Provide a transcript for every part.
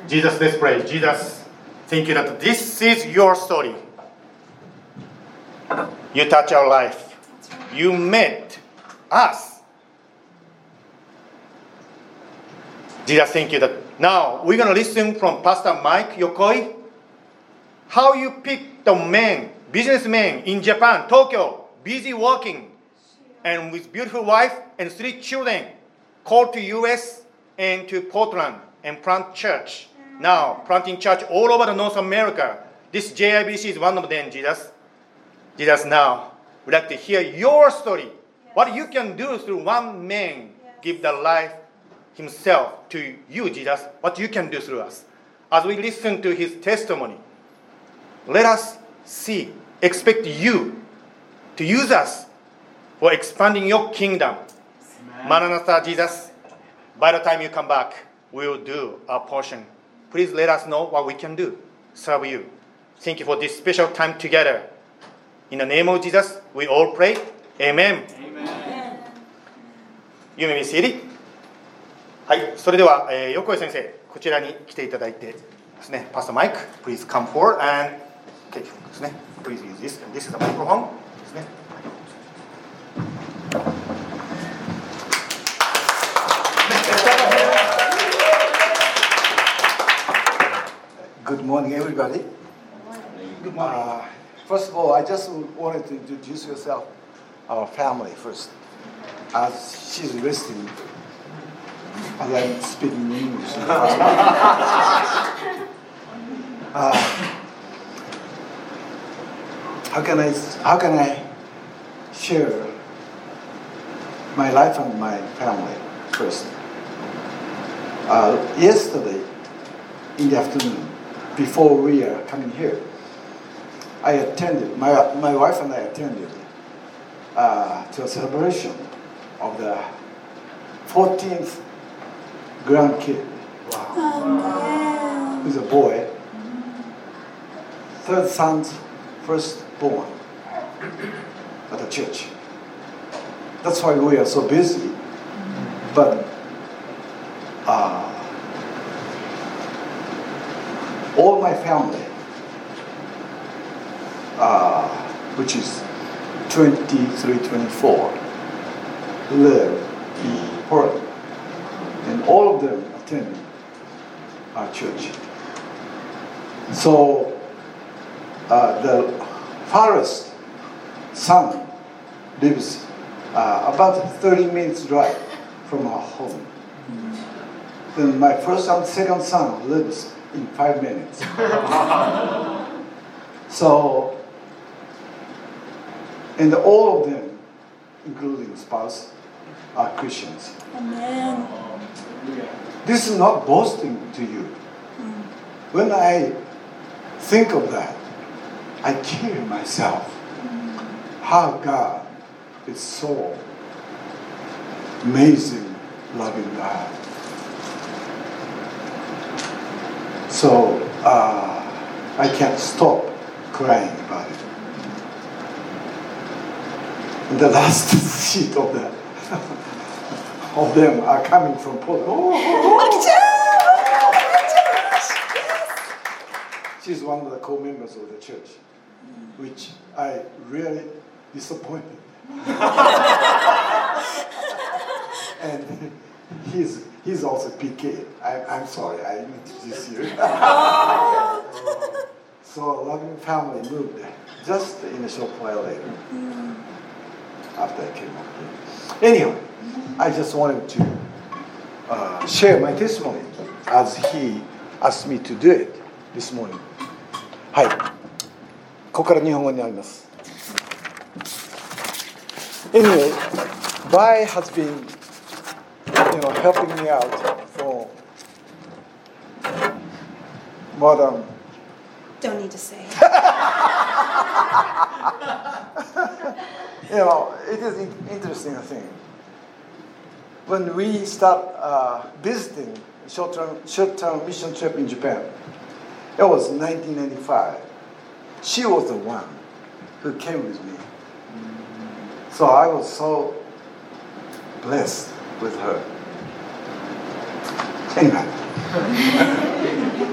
Jesus, let's pray. Jesus, thank you that this is your story. You touch our life. You met us. Jesus, thank you that now we're going to listen from Pastor Mike Yokoi how you pick the man, businessman in Japan, Tokyo, busy working and with beautiful wife and 3 children, called to US and to Portland and plant church. Now, planting church all over the North America. This JIBC is one of them, Jesus. Jesus, now, we'd like to hear your story. Yes. What you can do through one man, yes. Give the life himself to you, Jesus. What you can do through us. As we listen to his testimony, let us see, expect you to use us for expanding your kingdom. Amen. Maranatha, Jesus. By the time you come back, we will do our portion. Please let us know what we can do. Serve you. Thank you for this special time together. In the name of Jesus, we all pray. Amen. Amen. You may be seated. はい、それでは、横井先生、こちらに来ていただいてですね、Pastor Mike, please come forward and take it ですね。Please use this. This is the microphone ですね。 Good morning, everybody. Good morning. First of all, I just wanted to introduce yourself, our family first. As she's resting, as I'm speaking English. How can I share my life and my family first? Yesterday, in the afternoon, before we are coming here, I attended, my wife and I attended to a celebration of the 14th grandkid. Wow. Who's a boy. Third son's first born at the church. That's why we are so busy. But all my family, which is 23, 24, live in Portland. And all of them attend our church. So the farthest son lives about 30 minutes drive from our home. Then my first and second son lives in 5 minutes. So, and all of them, including spouse, are Christians. Amen. This is not boasting to you. When I think of that, I kill myself. How God is so amazing, loving God. So I can't stop crying about it. And the last sheet of that of them are coming from Portland. She's one of the co-members of the church, which I really disappointed. And he's also PK. I'm sorry, I introduced you. So a loving family moved just in a short while later, after I came up here. Anyhow, I just wanted to share my testimony as he asked me to do it this morning. はい。ここから日本語になります。Anyway, Bai has been, helping me out for more than. Don't need to say. It is an interesting thing. When we start visiting short-term mission trip in Japan, it was 1995. She was the one who came with me. So I was so blessed with her. Anyway.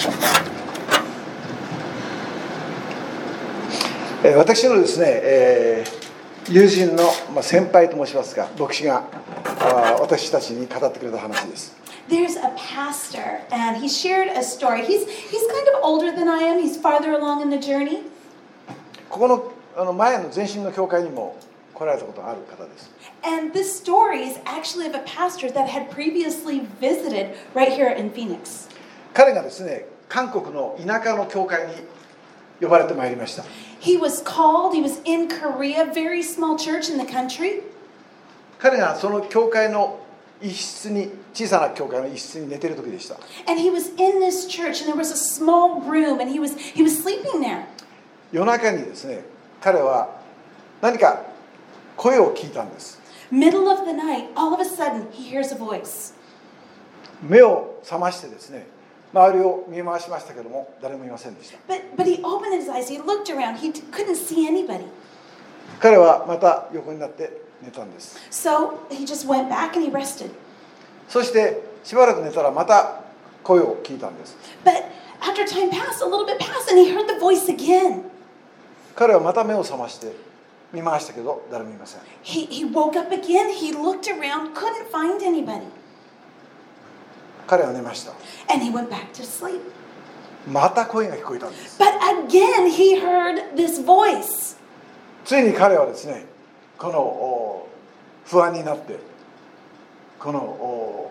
私のですね、友人の先輩と申しますか、牧師が私たちに語ってくれた話です。 There's a pastor, and he shared a story. He's kind of older than I am. He's farther along in the journey. ここの前の前身の教会にも来られたことがある方です。 And this story is actually of a pastor that had previously visited right here in Phoenix. 彼がですね、韓国の田舎の教会に呼ばれてまいりました。 He was called, he was in Korea, very small church in the country. 彼がその教会の一室に、小さな教会の一室に寝ている時でした。 And he was in this church, and there was a small room, and he was sleeping there. 夜中にですね、彼は何か声を聞いたんです。 Middle of the night, all of a sudden, he hears a voice. 目を覚ましてですね、周りを見回しましたけども、誰もいませんでした。 But he opened his eyes, he looked around, he couldn't see anybody. 彼はまた横になって寝たんです。 So he just went back and he rested. そしてしばらく寝たらまた声を聞いたんです。 But after time passed, a little bit passed, and he heard the voice again. 彼はまた目を覚まして見回したけど誰もいません。 He woke up again, he looked around, couldn't find anybody. 彼は寝ました。 And he went back to sleep. また声が聞こえたんです。 But again he heard this voice. ついに彼はですね、この不安になってこの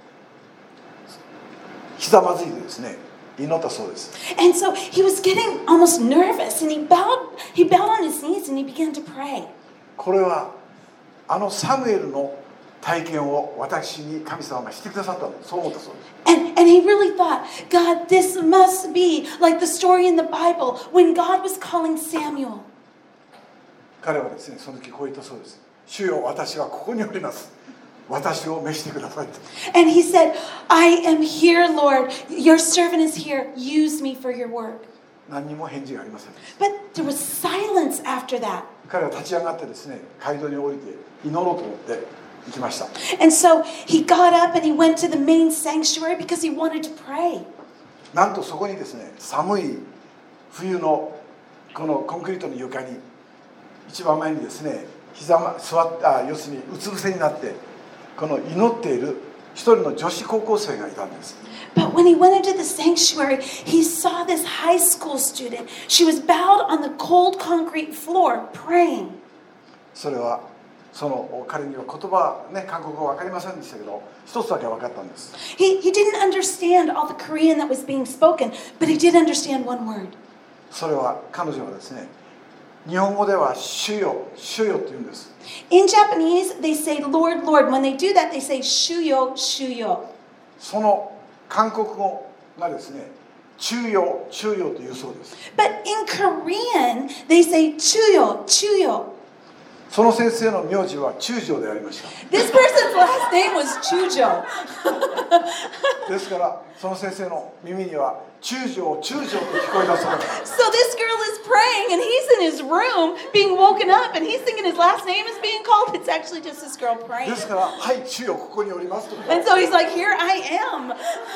ひざまずいてですね、祈ったそうです。 And so he was getting almost nervous, and he bowed on his knees and he began to pray. これはあのサムエルの体験を私に神様がしてくださったんです。そう思ったそうです。 And he really thought, God, this must be like the story in the Bible when God was calling Samuel. 彼はですね、その時こう言ったそうです。主よ、私はここにおります。私を召してくださいと。 And he said, I am here, Lord. Your servant is here. Use me for your work. 何にも返事がありませんでした。 But there was silence after that. 彼は立ち上がってですね、街道に降りて祈ろうと思って行きました。 And so he got up and he went to the main sanctuary because he wanted to pray. なんとそこにですね、寒い冬のこのコンクリートの床に一番前にですね、要するにうつ伏せになってこの祈っている一人の女子高校生がいたんです。 But when he went into the sanctuary, he saw this high school student. She was bowed on the cold concrete floor, praying. それはその彼には言葉ね、韓国語分かりませんでしたけど、一つだけ分かったんです。 He didn't understand all the Korean that was being spoken, but he did understand one word. それは彼女はですね、日本語では主よ、主よと言うんです。 In Japanese, they say Lord, Lord. When they do that, they say Shuyo, Shuyo. その韓国語がですね、中よ、中よというそうです。 But in Korean, they say Chuyo, Chuyo. その先生の名字は中条でありました。 This person's last name was Chujo. ですからその先生の耳には中条、中条と聞こえたそうです。 So this girl is praying, and he's in his room being woken up, and he's thinking his last name is being called. It's actually just this girl で praying. すからはい主よここにおりますと。 And so he's like, here I am.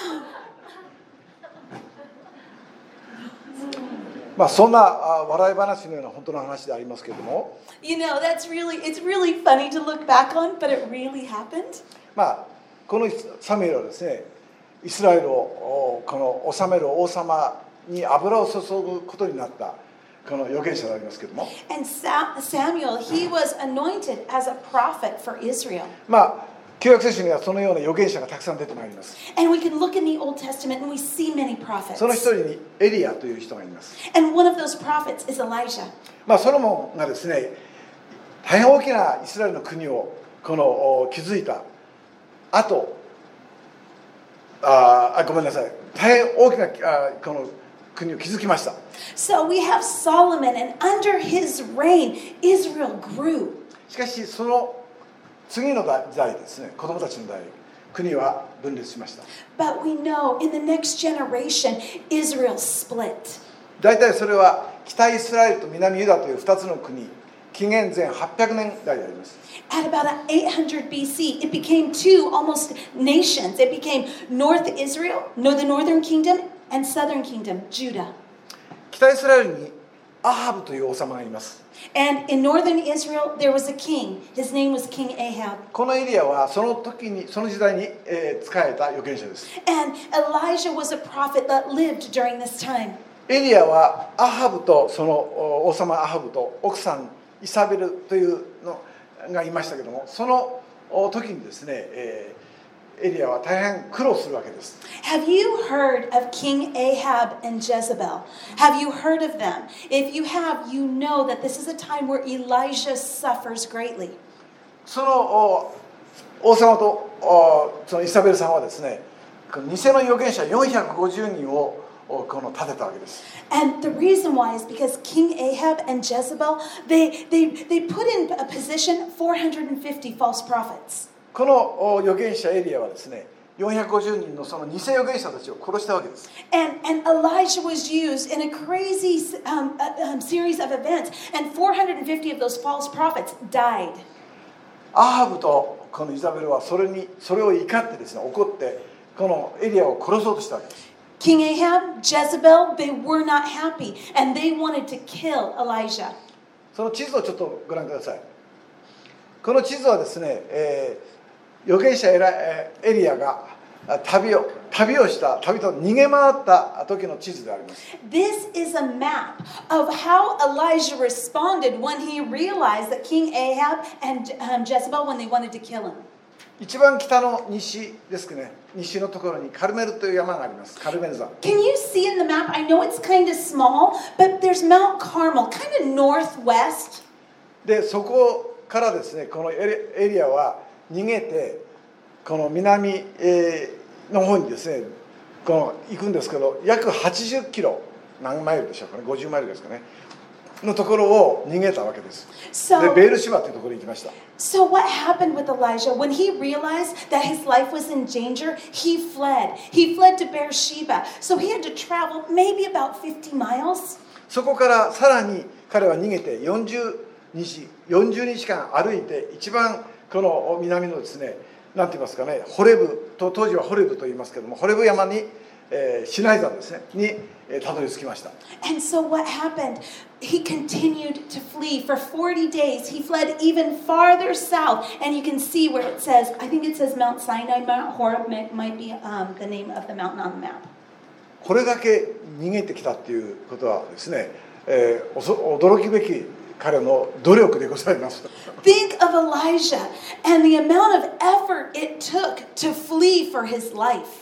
まあそんな笑い話のような本当の話でありますけれども、 You know, it's really funny to look back on, but it really happened. まあこのサムエルはですね、イスラエルをこの治める王様に油を注ぐことになったこの預言者でありますけれども、 And Samuel, he was anointed as a prophet for Israel. まあ旧約聖書にはそのような預言者がたくさん出てまいります。 And we can look in the Old Testament and we see many prophets. その一人にエリアという人がいます。 And one of those prophets is Elijah. まあソロモンがですね、大変大きなイスラエルの国をこの築いた後、ごめんなさい、大変大きなこの国を築きました。 So we have Solomon, and under his reign, Israel grew. しかしその次の代ですね、子供たちの代、国は分裂しました。 But we know in the next generation, Israel split. 大体それは北イスラエルと南ユダという2つの国、紀元前800年代であります。 At about 800 BC, it became two almost nations. It became North Israel, the northern kingdom, and southern kingdom, Judah. 北イスラエルにアハブという王様がいます。 And in northern Israel, there was a king. His name was King Ahab. このエリアはその時代に、仕えた預言者です。 And Elijah was a prophet that lived during this time. エリアはアハブとその王様アハブと奥さんイサベルというのがいましたけども、その時にですね、エリアは大変苦労するわけです。 Have you heard of King Ahab and Jezebel? Have you heard of them? If you have, you know that this is a time where Elijah suffers greatly. その王様とそのイサベルさんはですね、偽の預言者450人を立てたわけです。 And the reason why is because King Ahab and Jezebel, they put in a position 450 false prophets. この預言者エリアはですね、450人のその偽預言者たちを殺したわけです。 And Elijah was used in a crazy series of events, and 450 of those false prophets died. アハブとこのイザベルはそれを怒ってですね、怒ってこのエリアを殺そうとしたわけです。 King Ahab, Jezebel, they were not happy, and they wanted to kill Elijah. その地図をちょっとご覧ください。この地図はですね、預言者エリアが旅をした旅と逃げ回った時の地図であります。 This is a map of how Elijah responded when he realized that King Ahab and Jezebel, when they wanted to kill him. 一番北の西ですね、西のところにカルメルという山があります。カルメル山。 Can you see in the map? I know it's kind of small, but there's Mount Carmel, kind of northwest. でそこからですね、このエリアは逃げてこの南の方にですね、行くんですけど、約80キロ、何マイルでしょうかね、50マイルですかねのところを逃げたわけです。でベールシバというところに行きました。 So what happened with Elijah? When he realized that his life was in danger, he fled. He fled to Beersheba. So he had to travel maybe about 50 miles. そこからさらに彼は逃げて40日間歩いて、一番この南のですね、なんて言いますかね、ホレブと当時はホレブと言いますけども、ホレブ山に、シナイ山ですねにたどり着きました。 And so what happened? He continued to flee for 40 days. He fled even farther south. And you can see where it says, I think it says Mount Sinai, Mount Horeb might be the name of the mountain on the map. これだけ逃げてきたっていうことはですね、驚くべき彼の努力でございます。 Think of Elijah and the amount of effort it took to flee for his life.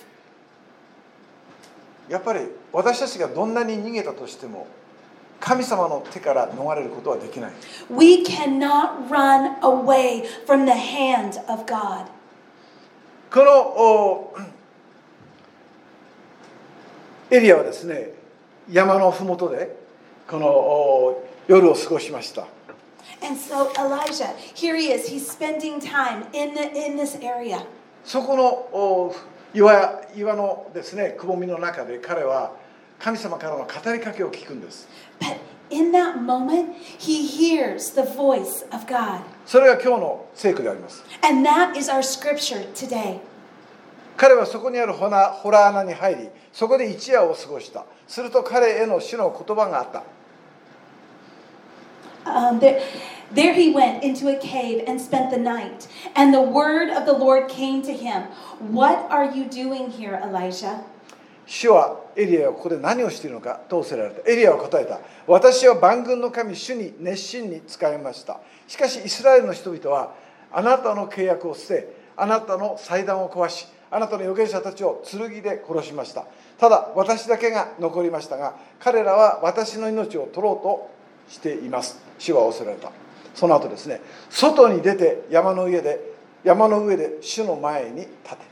やっぱり私たちがどんなに逃げたとしても神様の手から逃れることはできない。 We cannot run away from the hand of God. このエリアはですね、山のふもとでこの夜を過ごしました。 And so Elijah, here he is. He's spending time in this area. そこの岩のですね、くぼみの中で彼は神様からの語りかけを聞くんです。 But in that moment, he hears the voice of God. それが今日の聖句であります。 And that is our scripture today. 彼はそこにあるホラー穴に入り、そこで一夜を過ごした。すると彼への主の言葉があった。 There he went into a cave and spent the night. And the word of the Lord came to him. What are you doing here, Elijah? 主はエリアはここで何をしているのかと仰せられた。エリアは答えた。私は万軍の神主に熱心に仕えました。しかしイスラエルの人々はあなたの契約を捨て、あなたの祭壇を壊し、あなたの預言者たちを剣で殺しました。ただ私だけが残りましたが、彼らは私の命を取ろうとしています。主は仰せられた。その後ですね、外に出て山の上で主の前に立て。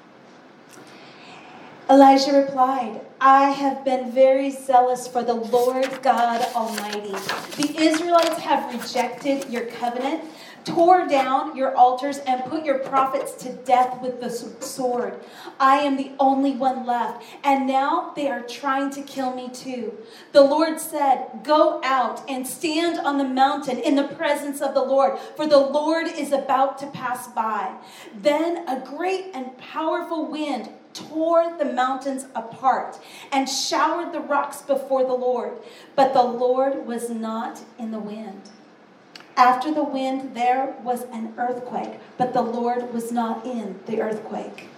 Elijah replied, I have been very zealous for the Lord God Almighty. The Israelites have rejected your covenant, tore down your altars, and put your prophets to death with the sword. I am the only one left, and now they are trying to kill me too. The Lord said, Go out and stand on the mountain in the presence of the Lord, for the Lord is about to pass by. Then a great and powerful wind tore the mountains apart and showered the rocks before the Lord. But the Lord was not in the wind. After the wind, there was an earthquake, but the Lord was not in the earthquake.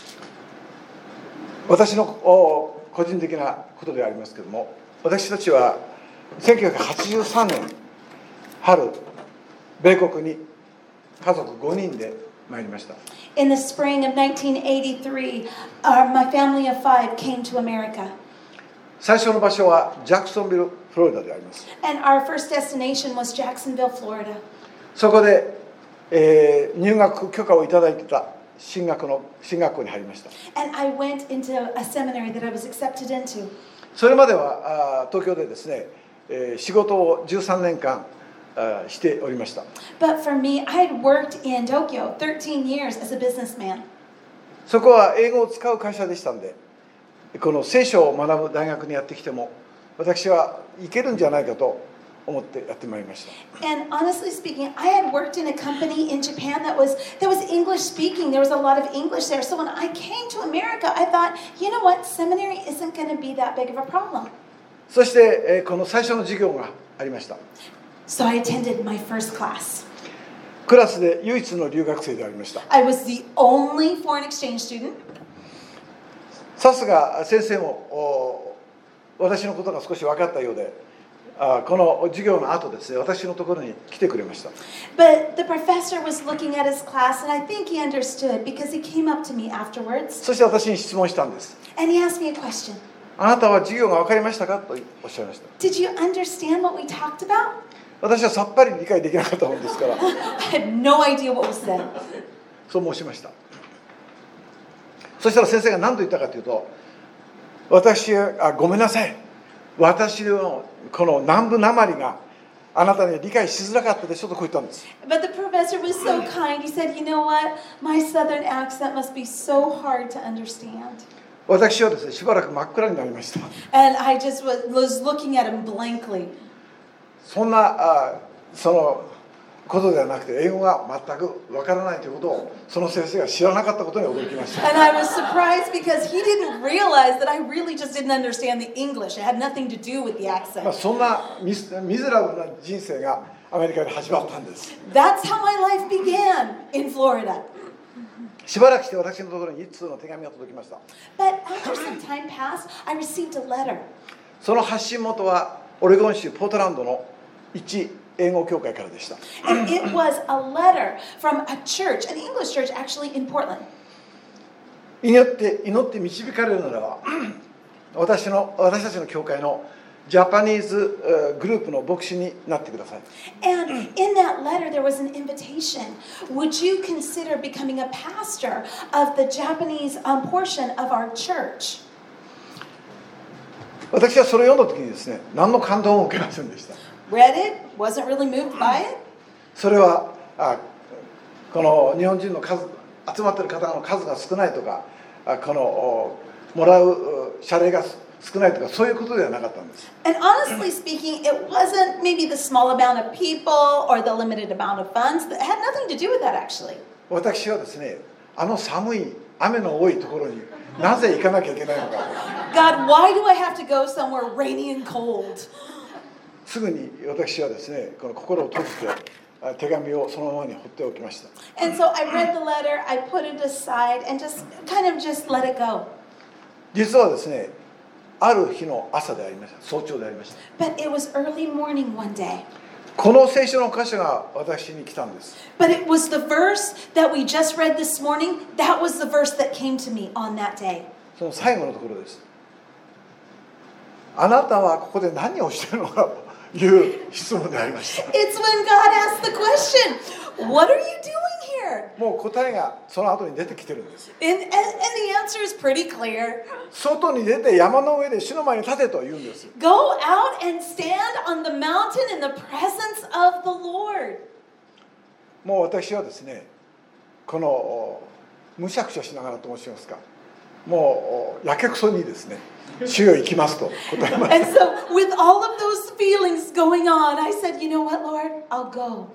私の個人的なことでありますけれども、私たちは1983年春、米国に家族5人で参りました。 In the spring of 1983, my family of 5 came to America. 最初の場所はジャクソンビル、フロリダであります。 And our first destination was Jacksonville, Florida. そこで、入学許可をいただいていた進学校に入りました。 And I went into a seminary that I was accepted into. それまでは東京でですね、仕事を13年間しておりました。 But for me, I had worked in Tokyo 13 years as a businessman. そこは英語を使う会社でしたんで、この聖書を学ぶ大学にやってきても私はいけるんじゃないかと思ってやってまいりました。 And honestly speaking, I had worked in a company in Japan that was English speaking. There was a lot of English there. So when I came to America, I thought, you know what, seminary isn't going to be that big of a problem. そしてこの最初の授業がありました。 So I attended my first class. クラスで唯一の留学生でありました。 I was the only foreign exchange student. さすが先生も私のことが少し分かったようで、この授業の後ですね、私のところに来てくれました。 But the professor was looking at his class, and I think he understood because he came up to me afterwards. そして私に質問したんです。 And he asked me a question. あなたは授業が分かりましたかとおっしゃいました。 Did you understand what we talked about? 私はさっぱり理解できなかったものですから、 I had no idea what was said. そう申しました。そしたら先生が何と言ったかというと、ごめんなさい。私のこの南部なまりがあなたに理解しづらかったでしょとこう言ったんです。 But the professor was so kind. He said, you know what? My southern accent must be so hard to understand. 私はですね、しばらく真っ暗になりました。 And I just was looking at him blankly. そんなそのことではなくて、英語が全くわからないということをその先生が知らなかったことに驚きました。 And I was surprised because he didn't realize that I really just didn't understand the English. It had nothing to do with the accent. そんなミゼラブルな人生がアメリカで始まったんです。 That's how my life began in Florida. しばらくして私のところに一通の手紙が届きました。 But after some time passed, I received a letter. その発信元はオレゴン州ポートランドの一英語教会からでした。 And it was a letter from a church, an English church actually in Portland. 祈って導かれるならば、私たちの教会のジャパニーズグループの牧師になってください。 And in that letter there was an invitation. Would you consider becoming a pastor of the Japanese portion of our church? 私はそれを読んだ時にですね、何の感動も受けませんでした。 Read it, wasn't really moved by it. それはこの日本人の集まっている方の数が少ないとか、このもらう謝礼が少ないとか、そういうことではなかったんです。 And honestly speaking, it wasn't maybe the small amount of people or the limited amount of funds. It had nothing to do with that actually. 私はですね、寒い雨の多いところになぜ行かなきゃいけないのか。 God, why do I have to go somewhere rainy and cold? すぐに私はですね、この心を閉じて手紙をそのままに放っておきました。 And so I read the letter, I put it aside and just let it go. 実はですね、ある日の朝でありました。早朝でありました。 But it was early morning one day. この聖書の箇所が私に来たんです。 But it was the verse that we just read this morning. That was the verse that came to me on that day. その最後のところです。あなたはここで何をしているのかという質問でありました。 It's when God asked the question, what are you doing here? もう答えがその後に出てきてるんです。 And the answer is pretty clear. 外に出て山の上で主の前に立てと言うんです。 Go out and stand on the mountain in the presence of the Lord. もう私はですね、このむしゃくしゃしながらと申しますか、もうやけくそにですね、主よ行きますと答えました。 And so with all of those feelings going on, I said, you know what, Lord, I'll go.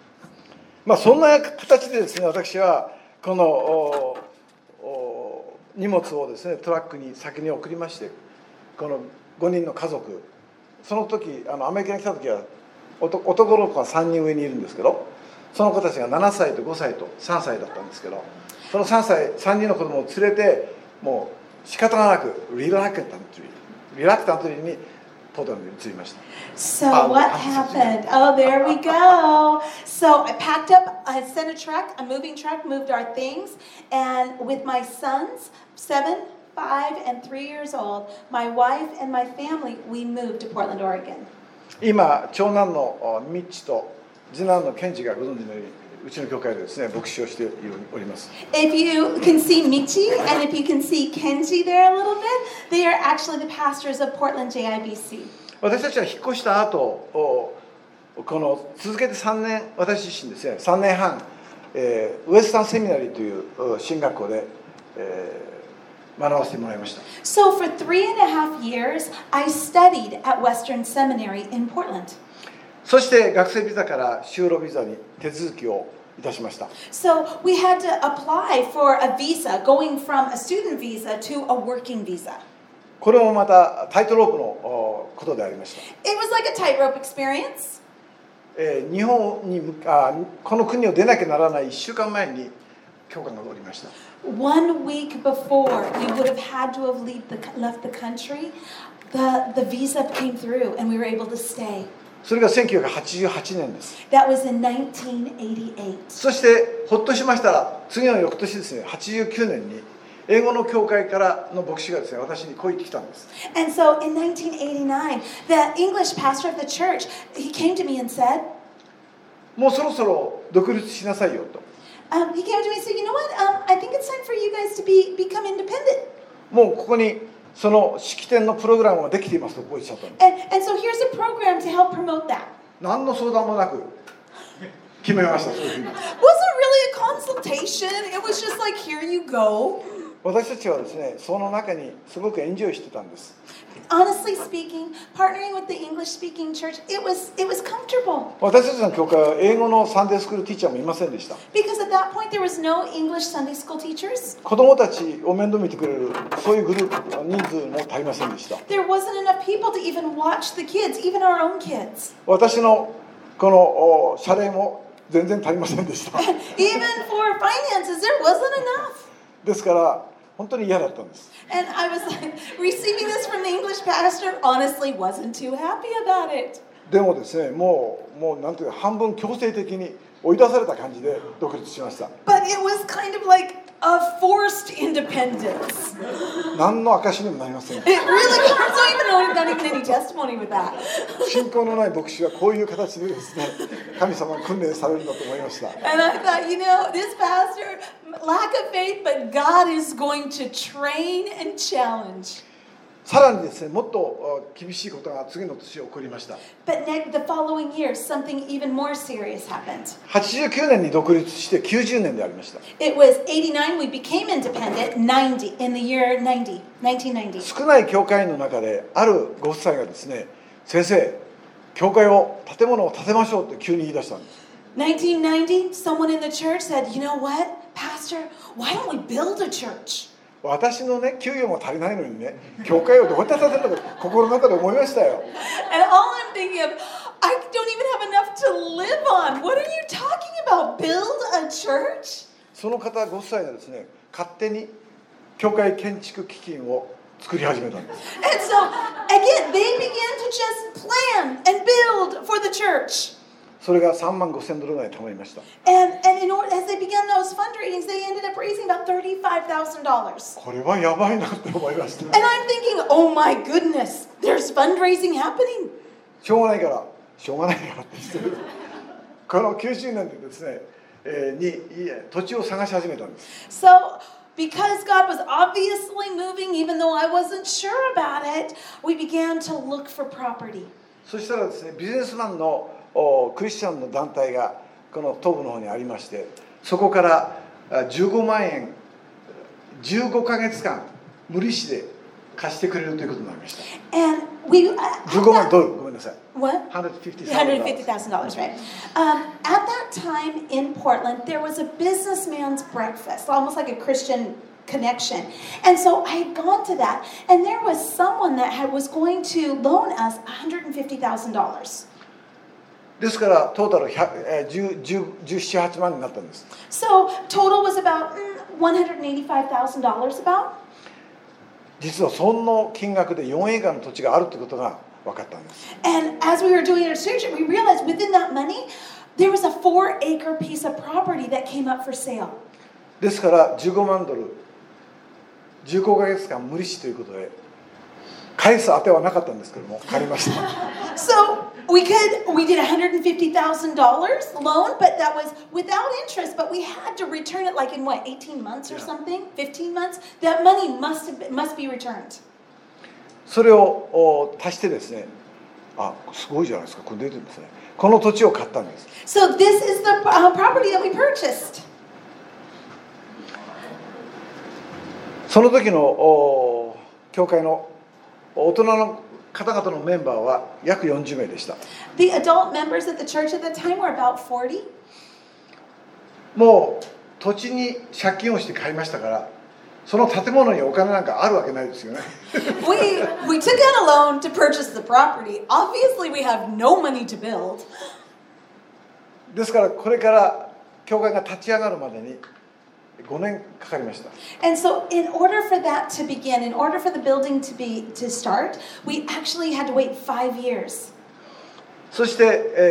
そんな形でですね、私はこの荷物をですねトラックに先に送りまして、この5人の家族、その時アメリカに来た時は男の子が3人上にいるんですけど、その子たちが7歳と5歳と3歳だったんですけど、その3人の子供を連れてもう仕方がなくリラクタントリーにポートランドに移りました。 So what happened? Oh, there we go. So I packed up, I sent a moving truck, moved our things, and with my sons, 7, 5, and 3 years old, my wife and my family, we moved to Portland, Oregon. 今長男のミッチと次男のケンジがご存知のようにうちの教会でですね牧師をしております。 If you can see Michi and if you can see Kenji there a little bit, they are actually the pastors of Portland JIBC. 私たちは引っ越した後、この続けて3年、私自身ですね3年半、ウエスタンセミナリーという進学校で、学ばせてもらいました。 So for 3.5 years, I studied at Western Seminary in Portland. そして学生ビザから就労ビザに手続きをいたしました。 So we had to apply for a visa, going from a student visa to a working visa. これもまたタイトロープのことでありました。 It was like a tightrope experience. 日本にこの国を出なきゃならない1週間前に教官がおりました。 1 week before we would have had to have left the country, the visa came through and we were able to stay. それが1988年です。 That was in 1988. そしてほっとしましたら次の翌年ですね89年に英語の教会からの牧師がですね私にこう言ってきたんです。 And so in 1989, the English pastor of the church, he came to me and said, もうそろそろ独立しなさいよと。 he came to me and said, you know what, I think it's time for you guys to become independent. もうここにその式典のプログラムができていますとこう言っちゃったんです。 And so here's a program to help promote that. 何の相談もなく決めました。そういうふうに Wasn't really a consultation. It was just like, here you go. 私たちはですねその中にすごくエンジョイしてたんです。 Honestly speaking, partnering with the English-speaking church, it was comfortable. 私たちの教会は英語のサンデースクールティーチャーもいませんでした。 Because at that point, there was no English Sunday school teachers. 子供たちを面倒見てくれるそういうグループ人数も足りませんでした。 There wasn't enough people to even watch the kids, even our own kids. 私のこの謝礼も全然足りませんでした。 Even for finances, there wasn't enough. ですから本当に嫌だったんです。 And I was like, receiving this from the English pastor, honestly wasn't too happy about it. でもですねもうなんていうか半分強制的に追い出された感じで独立しました。 But it was kind of like a forced independence. 何の証にもなりません。 It really was not even any testimony with that. 信仰のない牧師はこういう形でですね神様に訓練されるんだと思いました。 And I thought, you know, this pastor, lack of faith, but God is going to train and challenge. さらにですねもっと厳しいことが次の年起こりました。 But the following year, something even more serious happened. 89年に独立して90年でありました。 It was 89, we became independent, 90, in the year 1990. 少ない教会の中であるご夫妻がですね先生教会を建物を建てましょうって急に言い出したんです。 1990, someone in the church said, you know what, Pastor, why don't we build a church? 私のね給与も足りないのにね教会をどうやって建てるのか心の中で思いましたよ。 And all I'm thinking of, I don't even have enough to live on. What are you talking about? Build a church? その方ご夫妻がですね勝手に教会建築基金を作り始めたんです。 And so, again, they began to just plan and build for the church. それが$35,000ぐらい貯まりました。 And as they began those fundraisings, they ended up raising about $35,000. これはやばいなって思いました。 And I'm thinking, oh my goodness, there's fundraising happening. しょうがないからって言ってこの90年でですね、土地を探し始めたんです。 So, because God was obviously moving, even though I wasn't sure about it, we began to look for property. そしたらですねビジネスマンのクリスチャンの団体がこの東部の方にありまして、そこから15万円15ヶ月間無利子で貸してくれるということになりました。 And we 15万ドルごめんなさい。 What? $150,000 $150,000, right? At that time in Portland, there was a businessman's breakfast, almost like a Christian connection. And so I had gone to that, and there was someone that was going to loan us $150,000. ですからトータル17、8万になったんです。 So total was about $185,000 about. 実はその金額で4エーカーの土地があるということが分かったんです。 And as we were doing our research, we realized within that money, there was a 4-acre piece of property that came up for sale. ですから15万ドル、15ヶ月間無利子ということで、返す当てはなかったんですけども、借りました。 So we did $150,000 loan, but that was without interest, but we had to return it like in what, 18 months or something? 15 months? That money must be returned. それを足してですね、すごいじゃないですか、これ出てるんですね。この土地を買ったんです。 So this is the property that we purchased. その時の教会の大人の方々のメンバーは約40名でした。 The adult members at the church at that time were about 40. もう土地に借金をして買いましたから、その建物にお金なんかあるわけないですよね。 We took out a loan to purchase the property. Obviously, we have no money to build. ですからこれから教会が立ち上がるまでに5年かかりました。 And so, in order for that to begin, in order for the building to start, we actually had to wait 5 years. そして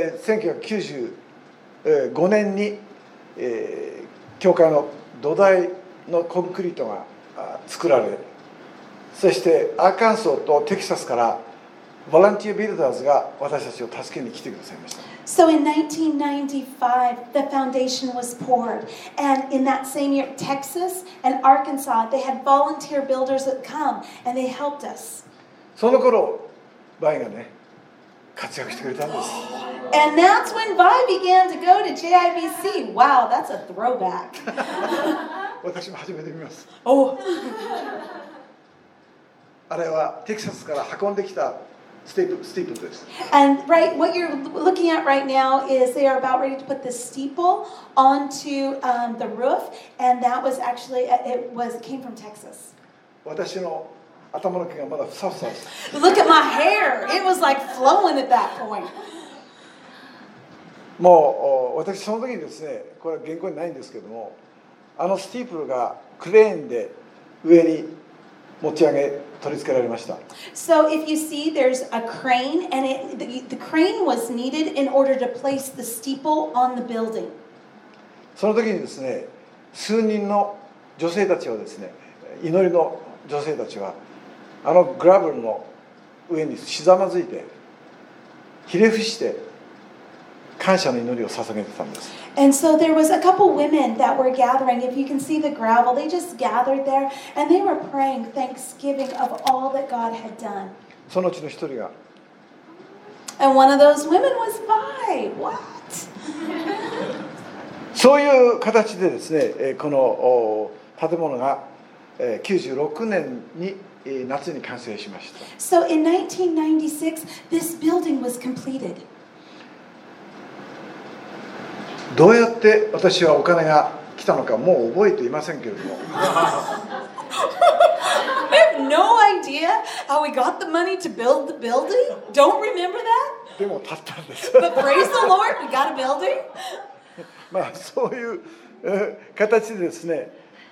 、1995年に、教会の土台のコンクリートが作られ、そしてアーカンソーとテキサスからボランティアビルダーズが私たちを助けに来てくださいました。 So in 1995, the foundation was poured. And in that same year, Texas and Arkansas, they had volunteer builders that come and they helped us. その頃バイがね活躍してくれたんです。 And that's when Vi began to go to JIBC. Wow, that's a throwback. 私も初めて見ます。 Oh. あれはテキサスから運んできたスティープルです。 And what you're looking at right now is they are about ready to put the steeple onto the roof, and that was actually it came from Texas. 私の頭の毛がまだふさふさです。 Look at my hair; it was like flowing at that point. もう私その時にですね、これは原稿にないんですけども、あのスティープルがクレーンで上に持ち上げ取り付けられました。 So if you see, there's a crane, and the crane was needed in order to place the steeple on the building. その時にですね、数人の女性たちはですね、祈りの女性たちはあのグラブルの上にひざまずいてひれ伏して感謝の祈りを捧げてたんです。 And so there was a couple women that were gathering. If you can see the gravel, they just gathered there, and they were praying thanksgiving of all that God had done. そのうちの一人が And one of those women was Vi. What? そういう形でですね、この建物が96年に夏に完成しました。 So in 1996, this building was completed. どうやって私はお金が来たのかもう覚えていませんけれども I have no idea how we got the money to build the building. Don't remember that? でも建ったんです But praise the Lord, we got a building. まあそういう形でですね、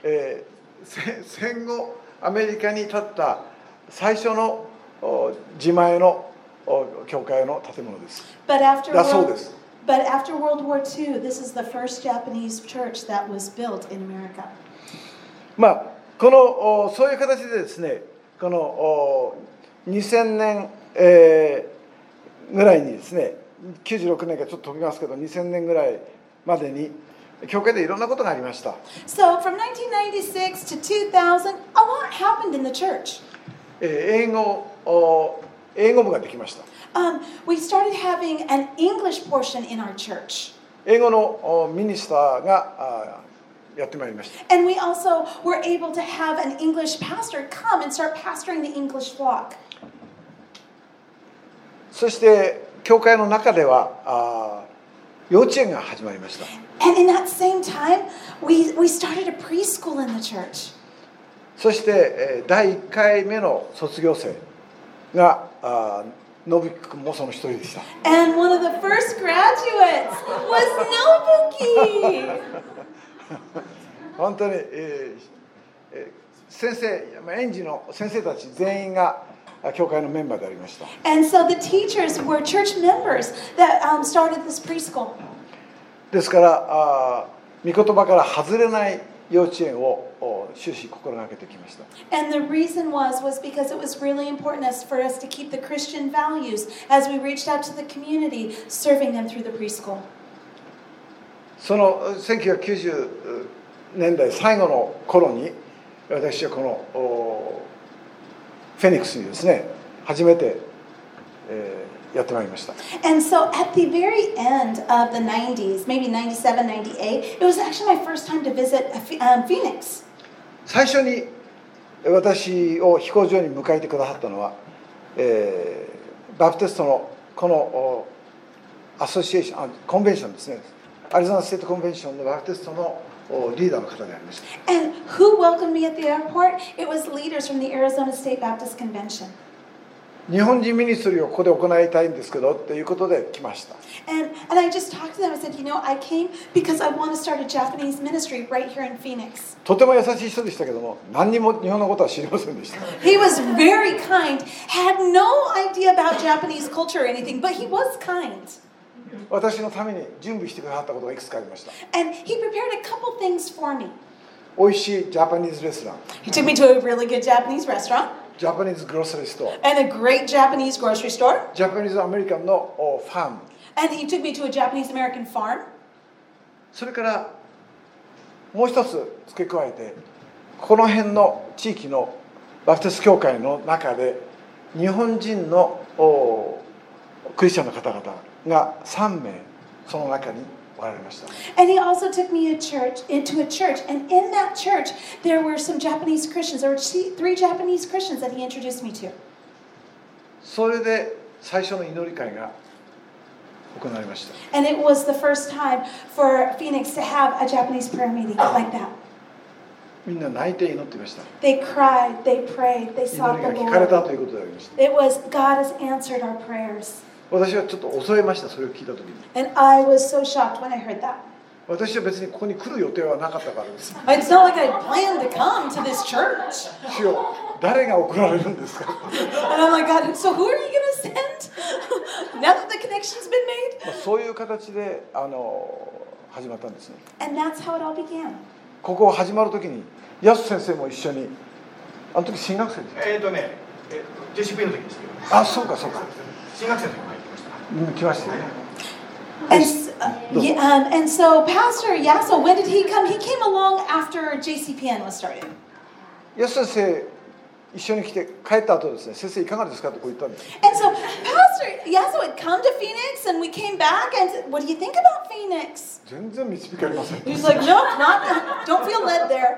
戦後アメリカに建った最初の自前の教会の建物です。 だそうです。 But after World War II, this is the first Japanese church that was built in America. まあこのそういう形でですね、この2000年、ぐらいにですね、96年からちょっと飛びますけど、2000年ぐらいまでに教会でいろんなことがありました。 So from 1996 to 2000, a lot happened in the church. 英語部ができました。 We started having an English portion in our church. 英語のミニスターがやってまいりました。 And we also were able to have an English pastor come and start pastoring the English flock. そして教会の中では幼稚園が始まりました。 And in that same time, we started a preschool in the church. そして第1回目の卒業生がのぶきくんもその一人でした。 And one of the first graduates was Nobuki. 本当に、先生、園児の先生たち全員が教会のメンバーでありました。 And so the teachers were church members that started this preschool. ですから御言葉から外れない幼稚園を終始心がけてきました。 And the reason was because it was really important for us to keep the Christian values as we reached out to the community, serving them through the preschool. その1990年代最後の頃に私はこのフェニックスにですね初めて、やってまいりました。 And so at the very end of the 90s, maybe 97, 98, it was actually my first time to visit Phoenix. 最初に私を飛行場に迎えてくださったのは、バプテストのこのアソシエーションコンベンションですね。アリゾナステートコンベンションのバプテストのリーダーの方でありました。 And who welcomed me at the airport? It was leaders from the Arizona State Baptist Convention. 日本人ミニストリーをここで行いたいんですけどっていうことで来ました。 And I just talked to them. I said, I came because I want to start a Japanese ministry right here in Phoenix. とても優しい人でしたけども、何にも日本のことは知りませんでした。 He was very kind, had no idea about Japanese culture or anything, but he was kind. 私のために準備してくださったことがいくつかありました。 And he prepared a couple things for me. 美味しいジャパニーズレストラン、 He took me to a really good Japanese restaurant ジャパニーズグロッサリーストア、 and a great Japanese grocery store. ジャパニーズアメリカンのファーム、 And he took me to a Japanese American farm. それからもう一つ付け加えて、この辺の地域のバプテスト教会の中で日本人のクリスチャンの方々が3名その中におられました。 And he also took me into a church, and in that church there were some Japanese Christians. There were 3 Japanese Christians that he introduced me to. それで最初の祈り会が行われました。 And it was the first time for Phoenix to have a Japanese prayer meeting like that. みんな泣いて祈っていました。 They cried, they prayed, they 祈 sought り the が聞かれた Lord. ということでありました。 It was God has answered our prayers. 私はちょっと恐れました、それを聞いたときに。 And I was so shocked when I heard that. 私は別にここに来る予定はなかったからです。 It's not like I planned to come to this church. 主よ、誰が送られるんですか And I'm like, God, so who are you going to send? Now that the connection's been made? そういう形で始まったんですね。 And that's how it all began. ここ始まるときに、ヤス先生も一緒に、あの時新学生です。 JCP の時ですけど。 あ、そうかそうか。 新学生の時も入ってました。 来ましたね。 And so Pastor Yasso, when did he come? He came along after JCPN was started. ヤス先生一緒に来て帰った後ですね、先生いかがですかってこう言ったんです。 And so Pastor Yasso had come to Phoenix, and we came back and said, what do you think about Phoenix? 全然導かれません。 He's like, no, don't feel led there.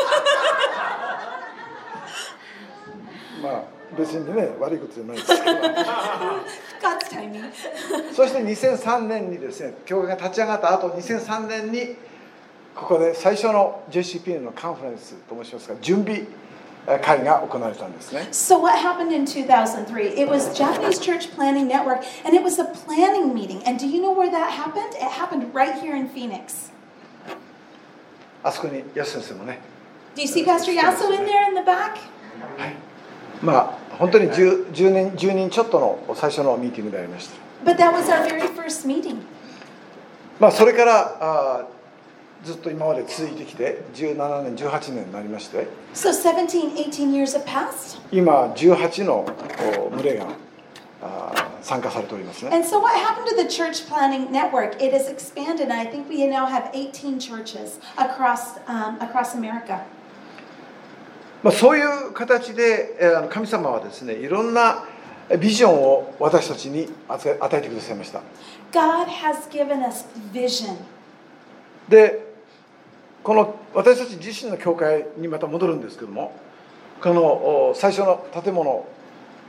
まあ別にね悪いことじゃないですけど。 God's timing. そして2003年にですね、教会が立ち上がった後、2003年にここで最初の JCPN のカンファレンスと申しますか、準備会が行われたんですね。 So what happened in 2003? It was Japanese Church Planning Network, and it was a planning meeting. And do you know where that happened? It happened right here in Phoenix. あそこにヤス先生もね。 Do you see Pastor Yasso in there in the back? はい。まあ本当に10人ちょっとの最初のミーティングでありました。 But that was our very first meeting. まあそれからずっと今まで続いてきて17年18年になりまして、 So 17, 18 years have passed. 今18の群れが参加されておりますね。 And so what happened to the church planning network? It has expanded, and I think we now have 18 churches across America. まあそういう形で神様はですね、いろんなビジョンを私たちに与えてくださいました。 God has given us vision. で、この私たち自身の教会にまた戻るんですけども、この最初の建物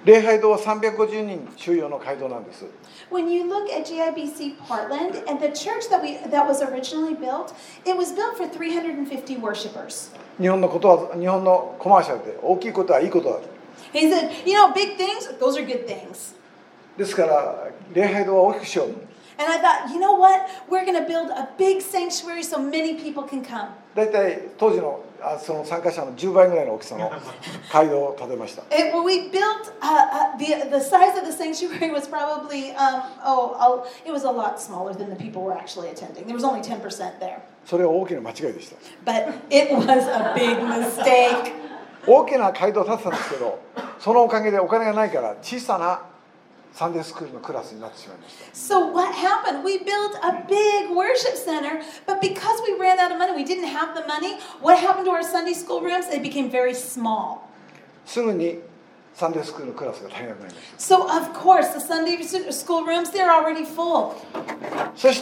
礼拝堂は350人収容の会堂なんです。 When you look at GIBC Portland and the church that was originally built, it was built for 350 worshipers. 日本のコマーシャルで大きいことはいいことだ。 He said, you know, big things, those are good things. ですから礼拝堂は大きくしよう。 And I thought, you know what? We're going to build a big sanctuary so many people can come. だいたい当時のその参加者の10倍ぐらいの大きさの会堂を建てました。 We built the size of the sanctuary was probably it was a lot smaller than the people were actually attending. There was only 10% there. それは大きな間違いでした。 But it was a big mistake. 大きな会堂を建てたんですけど、そのおかげでお金がないから小さなサンデースクールのクラスになってしまいました。 So what happened? We built a big worship center, but because we ran out of money, we didn't have the money. What happened to our Sunday school rooms? They became very small. すぐにサンデースクールのクラスが足りなくなりました。 So of course, the Sunday school rooms, they're already full. そして、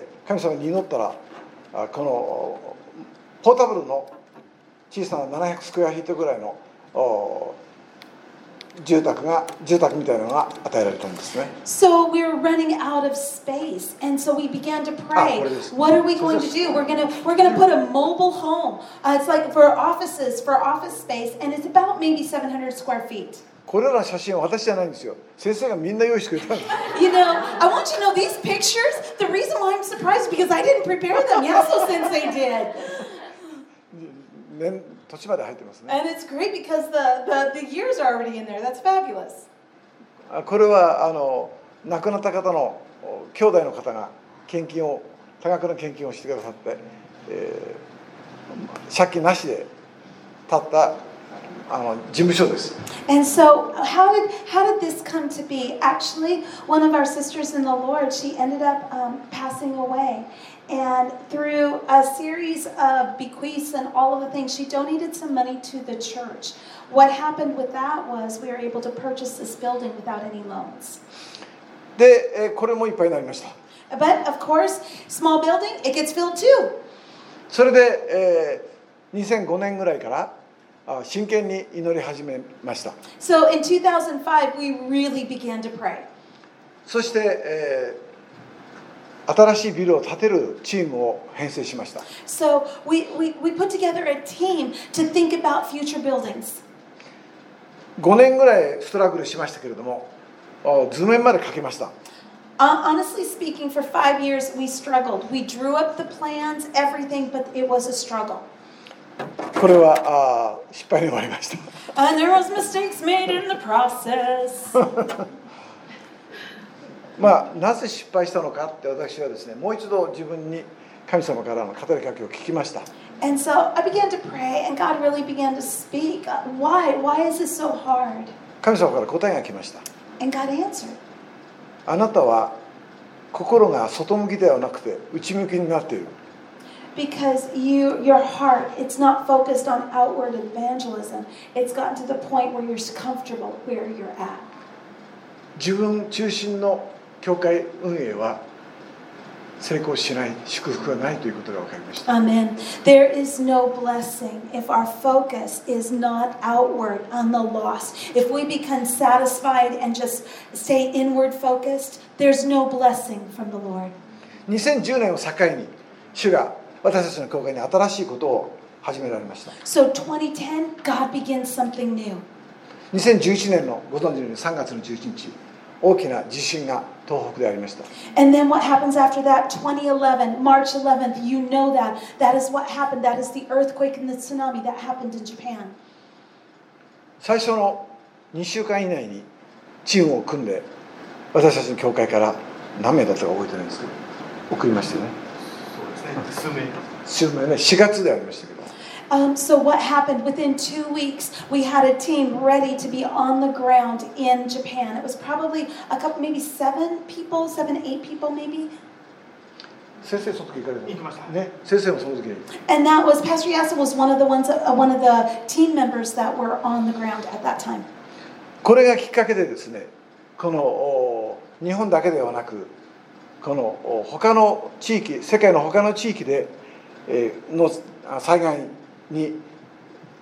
神様に祈ったら、このポータブルの小さな700スクエアフィートぐらいの住宅みたいなのが与えられたんですね。 So we were running out of space, and so we began to pray. What are we going to do? We're gonna put a mobile home. It's like for office space, and it's about maybe 700 square feet. これらの写真は私じゃないんですよ。先生がみんな用意してくれたんです。 You know, I want you to know these pictures. The reason why I'm surprised is because I didn't prepare them. Yaso Sensei did. 土地まで入ってますね。 And it's great because the years are already in there. That's fabulous. これは亡くなった方の兄弟の方が多額の献金をしてくださって、借金なしで建った事務所です。 And so, how did this come to be? Actually, one of our sisters in the Lord, she ended up passing away. And through a series of bequests and all of the things, she donated some money to the church. What happened with that was we were able to purchase this building without any loans. で、これもいっぱいになりました。 But of course, small building, it gets filled too. それで、2005年ぐらいから真剣に祈り始めました。 So in 2005, we really began to pray. そして、新しいビルを建てるチームを編成しました。 So we put together a team to think about future buildings. 5年ぐらいストラグルしましたけれども、図面まで描けました。 Honestly speaking, for 5 years we struggled. We drew up the plans, everything, but it was a struggle. これは失敗に終わりました。 And there was mistakes made in the process. なぜ失敗したのかって私はですね、もう一度自分に神様からの語りかけを聞きました。 And so I began to pray, and God really began to speak. Why? Why is this so hard? 神様から答えが来ました。 And God answered. あなたは心が外向きではなくて内向きになっている。 Because your heart, it's not focused on outward evangelism. It's gotten to the point where you're comfortable where you're at. 自分中心の教会運営は成功しない、祝福がないということが分かりました。 Amen. There is no blessing if our focus is not outward on the lost. If we become satisfied and just stay inward focused, there's no blessing from the Lord. 2010年を境に主が私たちの教会に新しいことを始められました。 So 2010, God begins something new. 2011年のご存知のように3月の11日、大きな地震が東北でありました。 And then what happens after that? 2011, March 11th, you know that. That is what happened. That is the earthquake and the tsunami that happened in Japan. 最初の2週間以内にチームを組んで、私たちの教会から何名だったか覚えてないんですけど、送りましたよね。 そうですね。 数名ね、4月でありましたけど。 So what happened? Within 2 weeks, we had a team ready to be on the ground in Japan. It was probably a couple, maybe 7 people, 7, 8 people maybe. 先生その時行かれた。 行きました。 ね、先生もその時に。 And that was, Pastor Yasa was one of the team members that were on the ground at that time. これがきっかけでですね、この日本だけではなく、この他の地域、世界の他の地域での災害に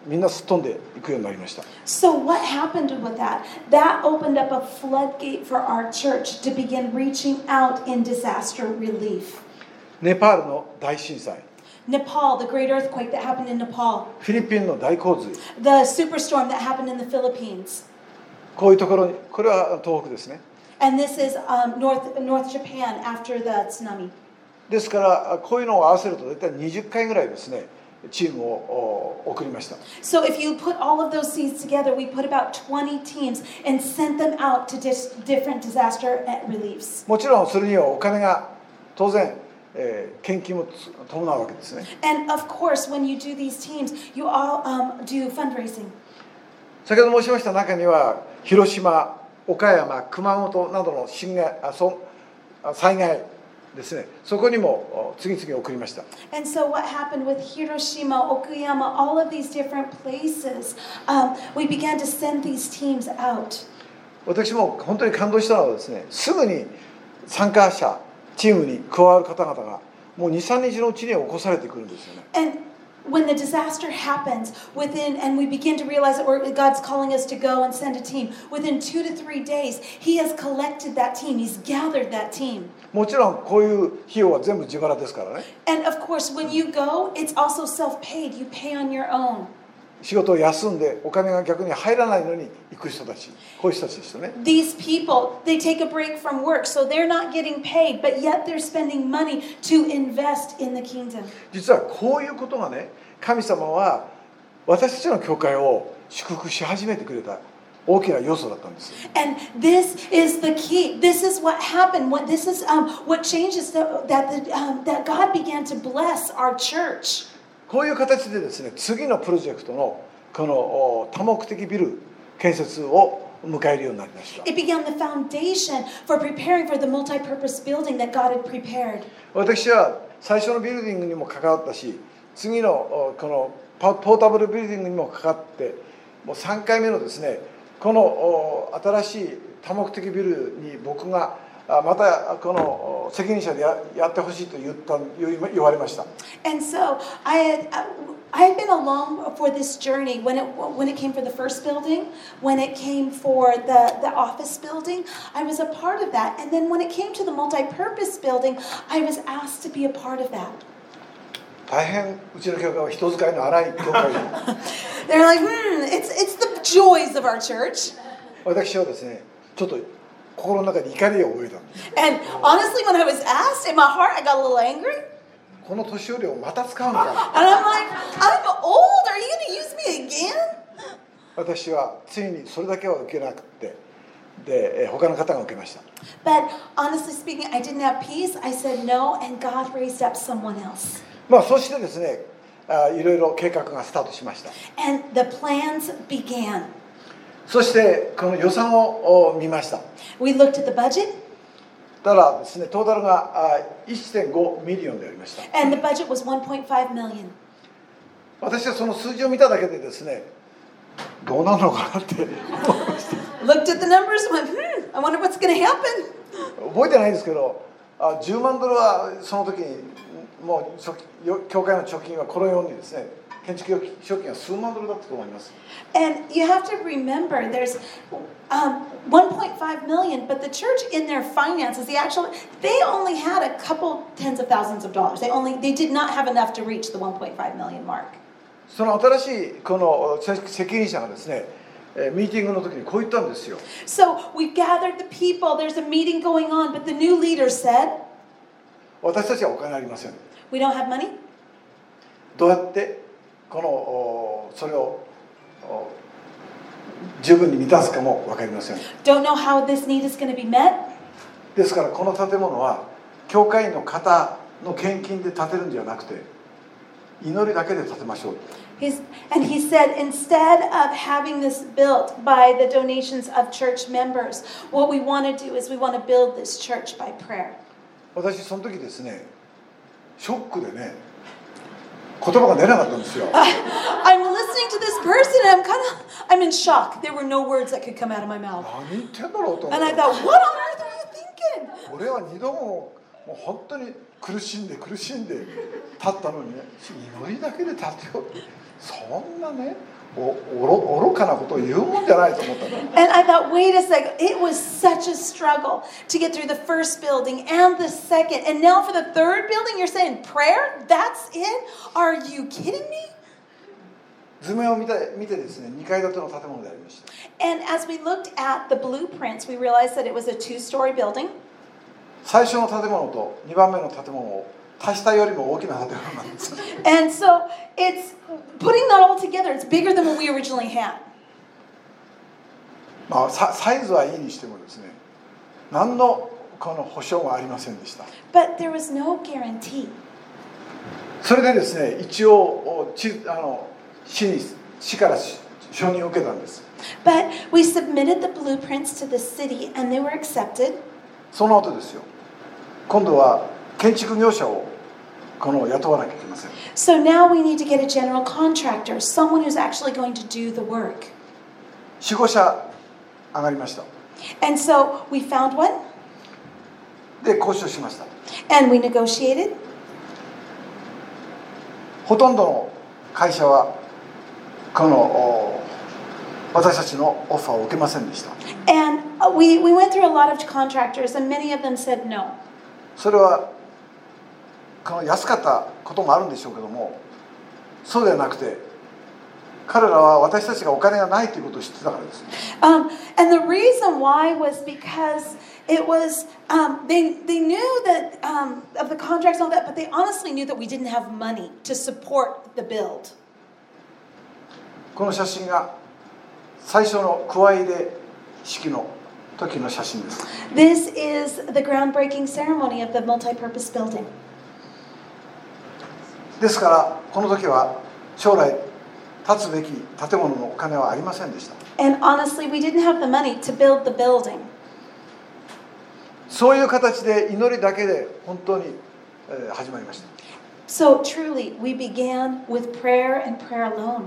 みんなすっ飛んでいくようになりました。 So what happened with that? That opened up a floodgate for our church to begin reaching out in disaster relief. ネパールの大震災、 Nepal, the great earthquake that happened in Nepal, フィリピンの大洪水、 the superstorm that happened in the Philippines. こういうところに、これは東北ですね。 And this is North Japan after the tsunami. ですからこういうのを合わせると大体20回ぐらいですね、チームを送りました。 So if you put all of those seeds together, we put about 20 teams and sent them out to different disaster reliefs. もちろんそれにはお金が当然、献金も伴うわけですね。 And of course, when you do these teams, you all do fundraising. 先ほど申しました中には広島、岡山、熊本などの災害ですね、そこにも次々送りました。 And so what happened with Hiroshima, Okayama, all of these different places, we began to send these teams out. 私も本当に感動したのはですね、すぐに参加者チームに加わる方々がもう 2,3 日のうちに起こされてくるんですよね。 And when the disaster happens, and we begin to realize that God's calling us to go and send a team, within 2 to 3 days, He has collected that team. He's gathered that team. もちろんこういう費用は全部自腹ですからね。 And of course, when you go, it's also self-paid. You pay on your own. 仕事を休んでお金が逆に入らないのに行く人たち、こういう人たちですよね。 These people, they take a break from work, so they're not getting paid, but yet they're spending money to invest in the kingdom. 実はこういうことがね、神様は私たちの教会を祝福し始めてくれた大きな要素だったんです。 And this is the key. This is what happened. This is what changes that God began to bless our church. こういう形でですね、次のプロジェクトのこの多目的ビル建設を迎えるようになりました。 It began the foundation for preparing for the multi-purpose building that God had prepared. 私は最初のビルディングにも関わったし、次のこのポータブルビルディングにも関わって、もう3回目のですね、この新しい多目的ビルに僕がまたこの責任者でやってほしいと言われました。 And so I had been along for this journey when it came for the first building, when it came for the office building, I was a part of that. And then when it came to the multi-purpose building, I was asked to be a part of that. 大変うちの教会は人使いの荒い教会で They're like, it's the joys of our church. 私はですね、ちょっと心の中で怒りを覚えたんです。 And honestly, when I was asked, in my heart, I got a little angry. この年寄りをまた使うのか。 And I'm like, I'm old. Are you going to use me again? 私はついにそれだけは受けなくて、で他の方が受けました。 But honestly speaking, I didn't have peace. I said no, and God raised up someone else. まあそしてですね、いろいろ計画がスタートしました。 And the plans began. そしてこの予算を見ました。 We looked at the budget, ただですね、トータルが 1.5 ミリオンでありました。 and the budget was 1.5 million. 私はその数字を見ただけでですね、どうなるのかなって思いました。 Looked at the numbers and went, I wonder what's going to happen. 覚えてないんですけど、10万ドルはその時にもう教会の貯金はこのようにですね、建築賞金は数万ドルだったと思います。 And you have to remember, there's 1.5 million, but the church in their finances, they only had a couple tens of thousands of dollars. They did not have enough to reach the 1.5 million mark. その新しいこの責任者がですね、ミーティングの時にこう言ったんですよ。 So we gathered the people. There's a meeting going on, but the new leader said, 私たちはお金ありません。 we don't have money. どうやってそれを十分に満たすかも分かりません。 Don't know how this need is going to be met. ですからこの建物は教会員の方の献金で建てるんじゃなくて、祈りだけで建てましょう。 And he said, instead of having this built by the donations of church members, what we want to do is we want to build this church by prayer. 私その時ですね、ショックでね、言葉が出なかったんですよ。 I'm listening to this person and I'm in shock. There were no words that could come out of my mouth. 何言ってんだろうと思 And っ I て。 thought, what on earth are you thinking? 俺は2度もう本当に苦しんで立ったのにね、祈りだけで立てようって、そんなね愚かなことを言うもんじゃないと思ったんだ。 And I thought, wait a second, it was such a struggle to get through the first building and the second. And now for the third building, you're saying prayer? That's it? Are you kidding me? 図面を見てですね、2階建ての建物でありました。 And as we looked at the blueprints, we realized that it was a two-story building. 最初の建物と2番目の建物を足したよりも大きな建物なんです。 And so it's putting that all together, it's bigger than what we originally had. まあ、サイズはいいにしてもですね、何のこの保証もありませんでした。 But there was no guarantee. それでですね、一応市から承認を受けたんです。 But we submitted the blueprints to the city and they were accepted. その後ですよ、今度は建築業者を雇わなきゃいけません。 So now we need to get a general contractor, someone who's actually going to do the work. 4、5社上がりました。 And so we found one で、交渉しました。 and we negotiated. ほとんどの会社は私たちのオファーを受けませんでした。 And we went through a lot of contractors and many of them said no. それは安かったこともあるんでしょうけども、そうではなくて、彼らは私たちがお金がないということを知ってたからです。 And the reason why was because it was, they knew that of the contracts and all that, but they honestly knew that we didn't have money to support the build. この写真が最初の加え入れ式の時の写真です。 This is the groundbreaking ceremony of the multi-purpose building. ですからこの時は将来建つべき建物のお金はありませんでした。 And honestly, we didn't have the money to build the building. そういう形で祈りだけで本当に始まりました。 So truly, we began with prayer and prayer alone.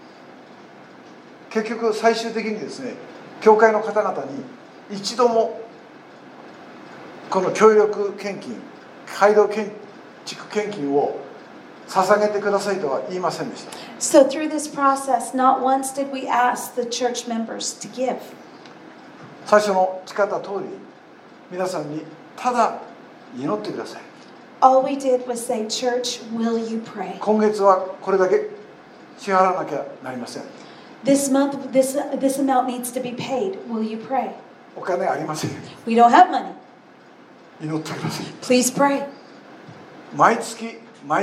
結局最終的にですね、教会の方々に一度もこの協力献金、街道建築献金を捧げてくださいとは言いませんでした。 So through this process, not once did we ask the church members to give. 最初の誓った通り、皆さんにただ祈ってください。 All we did was say, "Church, will you pray?" 今月はこれだけ支払わなきゃなりません。 This month, this amount needs to be paid. Will you pray? お金ありません。 We don't have money. 祈ってください。 Please pray. 毎月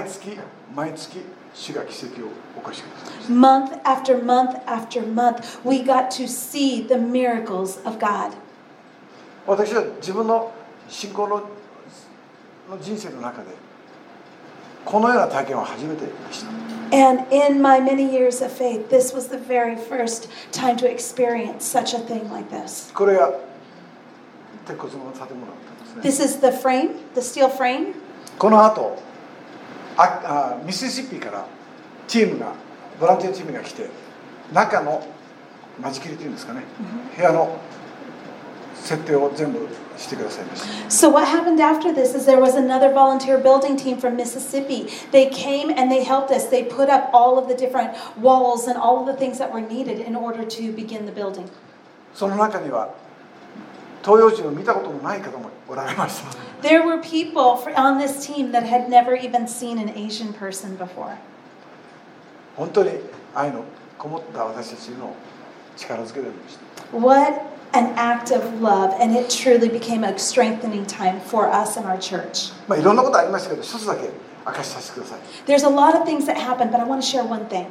主が奇跡を起こしてください。 Month after month after month, we got to see the miracles of God. 私は自分の信仰の人生の中でこのような体験は初めてでした。 And in my many years of faith, this was the very first time to experience such a thing like this. これが鉄骨の建物だったんですね。 This is the frame, the steel frame. この後ミシシッピからボランティアチームが来て、中の間仕切りというんですかね、部屋の設定を全部してくださいました。 So what happened after this is there was another volunteer building team from Mississippi. They came and they helped us. They put up all of the different walls and all of the things that were needed in order to begin the building. その中には東洋人を見たこともない方もおられました。 There were people on this team that had never even seen an Asian person before. 本当に愛のこもった私たちの力づけでありました。 What an act of love, and it truly became a strengthening time for us and our church. いろんなことありましたけど、一つだけ明かしさせてください。 There's a lot of things that happened, but I want to share one thing.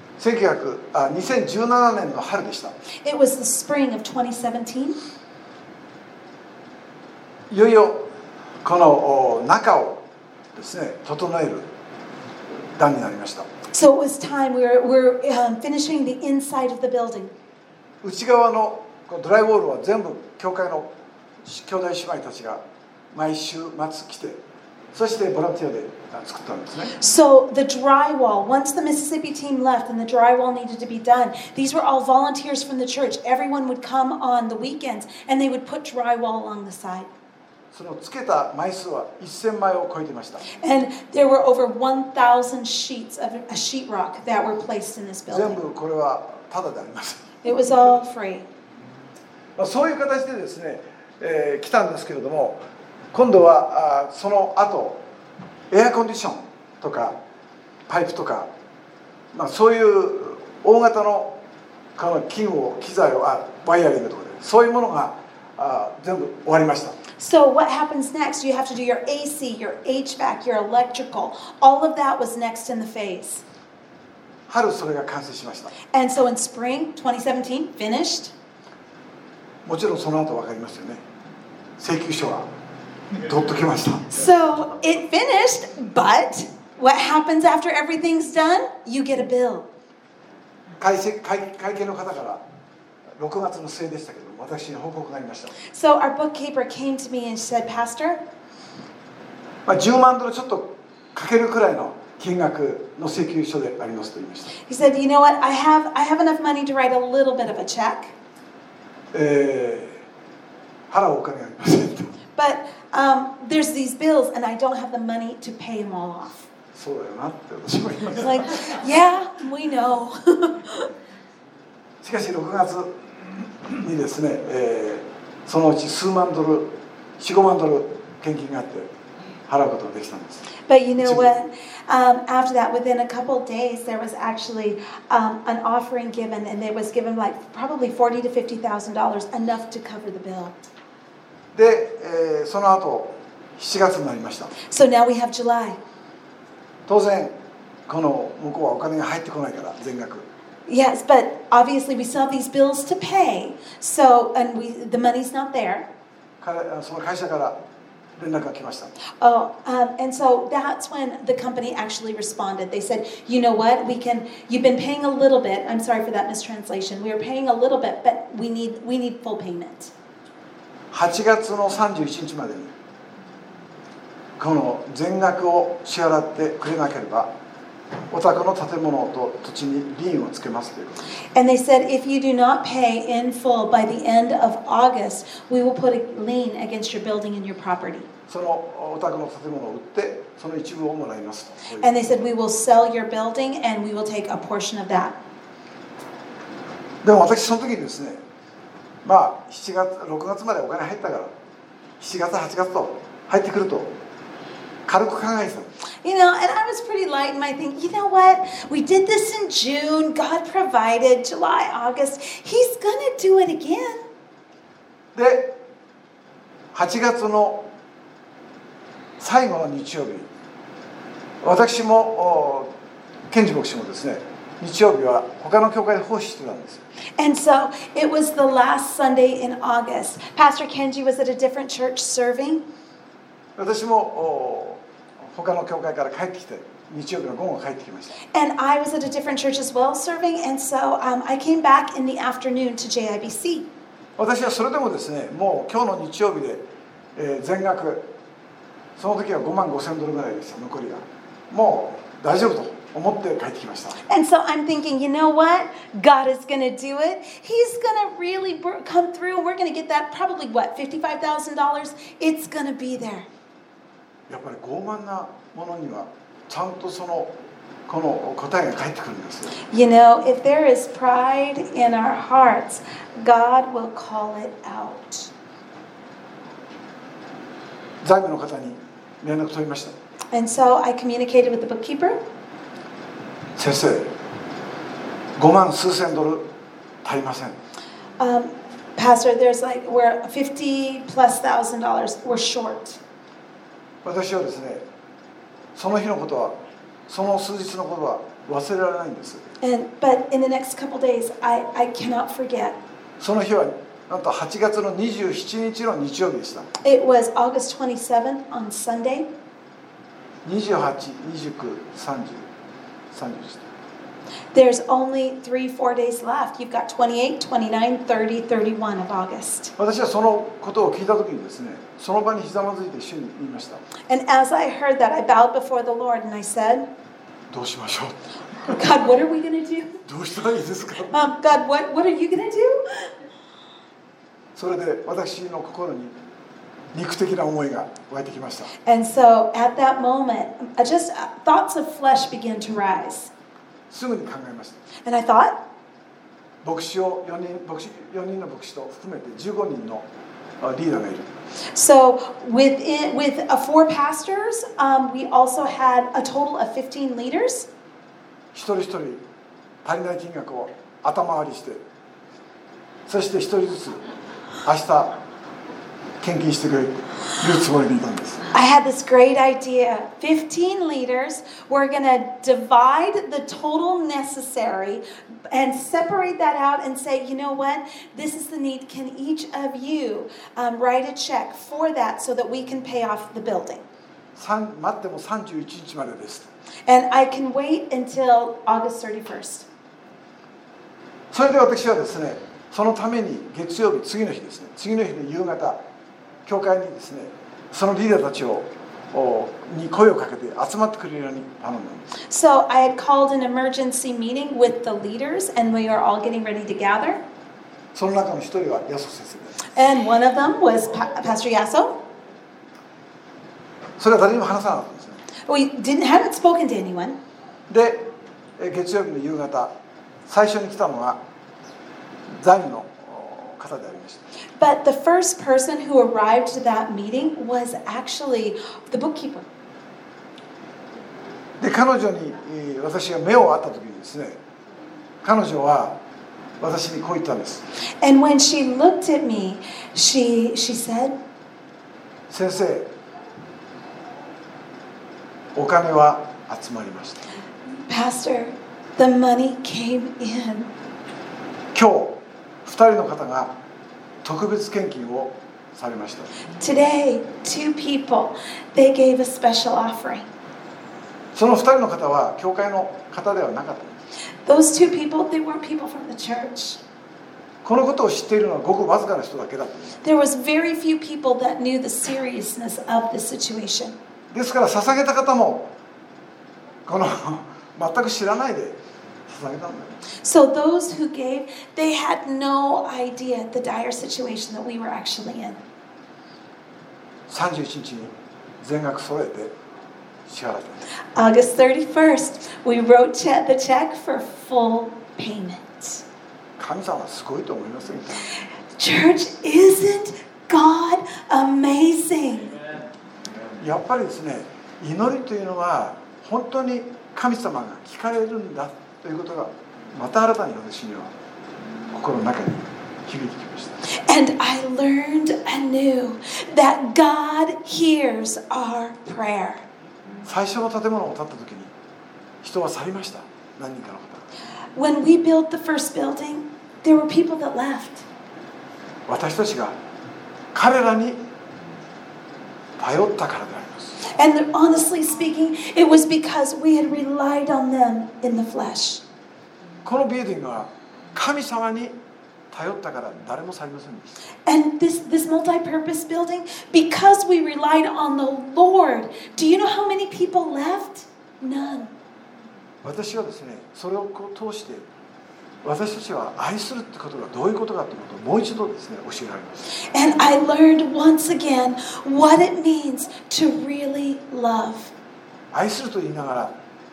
2017年の春でした。 It was the spring of 2017. いよいよこの中をですね、整える段になりました。 So it was time. We're finishing the inside of the building. 内側のドライウォールは全部教会の兄弟姉妹たちが毎週末来て、そしてボランティアで作ったんですね。 So the drywall, once the Mississippi team left and the drywall needed to be done, these were all volunteers from the church. Everyone would come on the weekends and they would put drywall along the side. そのつけた枚数は1000枚を超えていました。 And there were over 1,000 sheets of a sheetrock that were placed in this 全 building. 部これはタダであります。 It was all free. そういう形でですね、来たんですけれども、今度はその後エアコンディションとかパイプとか、そういう大型の器具を機材をワイヤリングとかでそういうものが全部終わりました。 So what happens next? You have to do your AC, your HVAC, your electrical. All of that was next in the phase. 春それが完成しました。 And so in spring 2017, finished. もちろんその後分かりますよね。請求書が取っときました。 So it finished, but what happens after everything's done? You get a bill. 会計の方から6月の末でしたけど、私に報告がありました。 So our bookkeeper came to me and said, Pastor, 10万ドルちょっとかけるくらいの金額の請求書でありますと言いました。 he said, you know what? I have enough money to write a little bit of a check, 払うお金がありませんと。 but there's these bills and I don't have the money to pay them all off. そうだよなって私も言いまし It's た。 like, yeah, we know. しかし6月にですね、そのうち数万ドル、4、5万ドル献金があって払うことができたんです。 But you know what? After that, within a couple of days, there was actually an offering given, and it was given like probably $40,000 to $50,000, enough to cover the bill. で、その後7月になりました。 So now we have July. 当然この向こうはお金が入ってこないから全額。 Yes, but obviously we still have these bills to pay. So, and the money's not there. その会社から連絡が来ました。 Oh, and so that's when the company actually responded. They said, you know what, you've been paying a little bit. I'm sorry for that mistranslation. We were paying a little bit, but we need full payment. 8月の31日までにこの全額を支払ってくれなければお宅の建物と土地にリーンをつけますということです。 And they said, if you do not pay in full by the end of August, we will put a lien against your building and your property. そのお宅の建物を売ってその一部をもらいますと。 And they said, we will sell your building and we will take a portion of that. でも私その時にですね、7月6月までお金入ったから7月8月と入ってくると軽く考えてた。 You know, and I was pretty light in my thinking, you know what? We did this in June. God provided. July, August. He's going to do it again. で8月の最後の日曜日、私もケンジ牧師もですね、日曜日は他の教会で奉仕してたんです。 And so it was the last Sunday in August. Pastor Kenji was at a different church serving. 私も他の教会から帰ってきて日曜日の午後帰ってきました。 And I was at a different church as well serving. And so I came back in the afternoon to JIBC. 私はそれでもですね、もう今日の日曜日で、全額その時は5万5千ドルぐらいでした。残りがもう大丈夫と思って帰ってきました。 And so I'm thinking, you know what? God is going to do it. He's going to really come through. We're going to get that probably, what, $55,000? It's going to be there. やっぱり傲慢なものにはちゃんとこの答えが返ってくるんですよ。 You know, if there is pride in our hearts, God will call it out. 財務の方に連絡取りました。 And so I communicated with the bookkeeper. 先生、5万数千ドル足りません。 Pastor, we're $50,000+ we're short. 私はですね、その日のことは、その数日のことは忘れられないんです。 But in the next couple days, I cannot forget. その日はなんと8月の27日の日曜日でした。 It was August 27th on Sunday. 28、29、30、31。 There's only 3-4 days left. You've got 28, 29, 30, 31 of August. 私はそのことを聞いたときにですね、その場にひざまずいて一緒に言いました。 And as I heard that, I bowed before the Lord and I said, どうしましょう。 God, what are we going to do? どうしたらいいですか。 God, what are you going to do? それで私の心に肉的な思いが湧いてきました。 And so at that moment, just thoughts of flesh began to rise. すぐに考えました。 And I thought, 4人の牧師と含めて15人のリーダーがいる。 so with 4 pastors, we also had a total of 15 leaders. 一人一人足りない金額を頭割りして、そして一人ずつ明日献金してくれるつもりでいたんです。 I had this great idea. 15 leaders were going to divide the total necessary and separate that out and say, you know what, this is the need. Can each of you write a check for that so that we can pay off the building? 待っても31日までです。 And I can wait until August 31st. それで私はですね、そのために月曜日、次の日ですね、次の日の夕方、教会にですね、そのリーダーたちに声をかけて集まってくれるように頼んだんです。 So I had called an emergency meeting with the leaders, and we were all getting ready to gather. その中の一人はヤソ先生です。 And one of them was Pastor Yasso. それは誰にも話さなかったんですね。 We hadn't spoken to anyone. で、月曜日の夕方、最初に来たのが財務の方でありました。 But the first person who arrived to that meeting was actually the bookkeeper. で、彼女に私が目を合った時にですね、彼女は私にこう言ったんです。 And when she looked at me, she said, 先生、お金は集まりました。 Pastor, the money came in. 今日、2人の方が特別献金をされました。 Today, 2 people, they gave a special offering. その2人の方は教会の方ではなかったんです。 Those 2 people, they weren't people from the church. このことを知っているのはごくわずかな人だけだったんです。 There was very few people that knew the seriousness of the situation. ですから捧げた方もこの全く知らないで捧げたんだよ。 So those who gave, they had no idea the dire situation that we were actually in. 31日に全額揃えて支払ったんです。 August 31st, we wrote the check for full payment. 神様はすごいと思いませんか？ Church, isn't God amazing? やっぱりですね、祈りというのは本当に神様が聞かれるんだということがまた新たに私には心の中に響いてきました。 And I learned anew that God hears our prayer. 最初の建物を建った時に人は去りました。何人かの方。 When we built the first building, there were people that left. 私たちが彼らに頼ったからであります。 And honestly speaking, it was because we had relied on them in the flesh. このビルディングは神様に頼ったから誰も去りませんでした。 And this multi-purpose building, because we relied on the Lord, do you know how many people left? None. 私はですね、それを通して私たちは愛するってことがどういうことかということをもう一度ですね、教えられました。 And I learned once again what it means to really love. 愛すると言いながら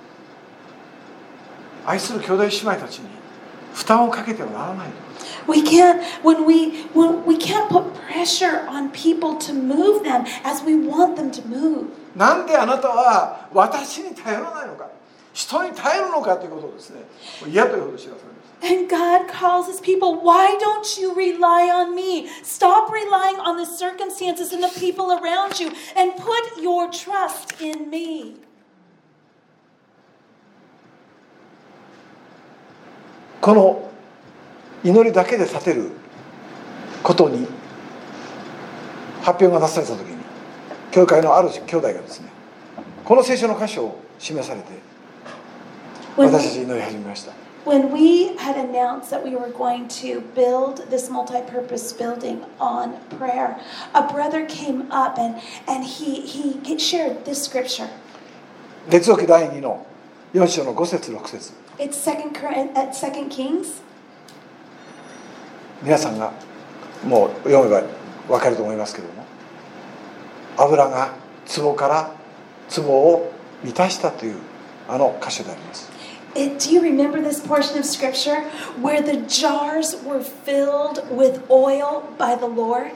愛する兄弟姉妹たちに負担をかけてはならない。 We can't put pressure on people to move them as we want them to move. なんであなたは私に頼らないのか、人に頼るのかということをですね、嫌というほど知らされます。 And God calls his people, why don't you rely on me? Stop relying on the circumstances and the people around you and put your trust in me. この祈りだけで立てることに発表がなされたときに、教会のある兄弟がですね、この聖書の箇所を示されて私たち祈り始めました。 When we had announced that we were going to build this multi-purpose building on prayer, a brother came up and he shared this scripture. 列王記第2の4章の5節6節。 It's 2 Kings. 皆さんがもう読めば分かると思いますけれども、 油が壺から壺を満たしたというあの箇所であります。 Do you remember this portion of scripture where the jars were filled with oil by the Lord?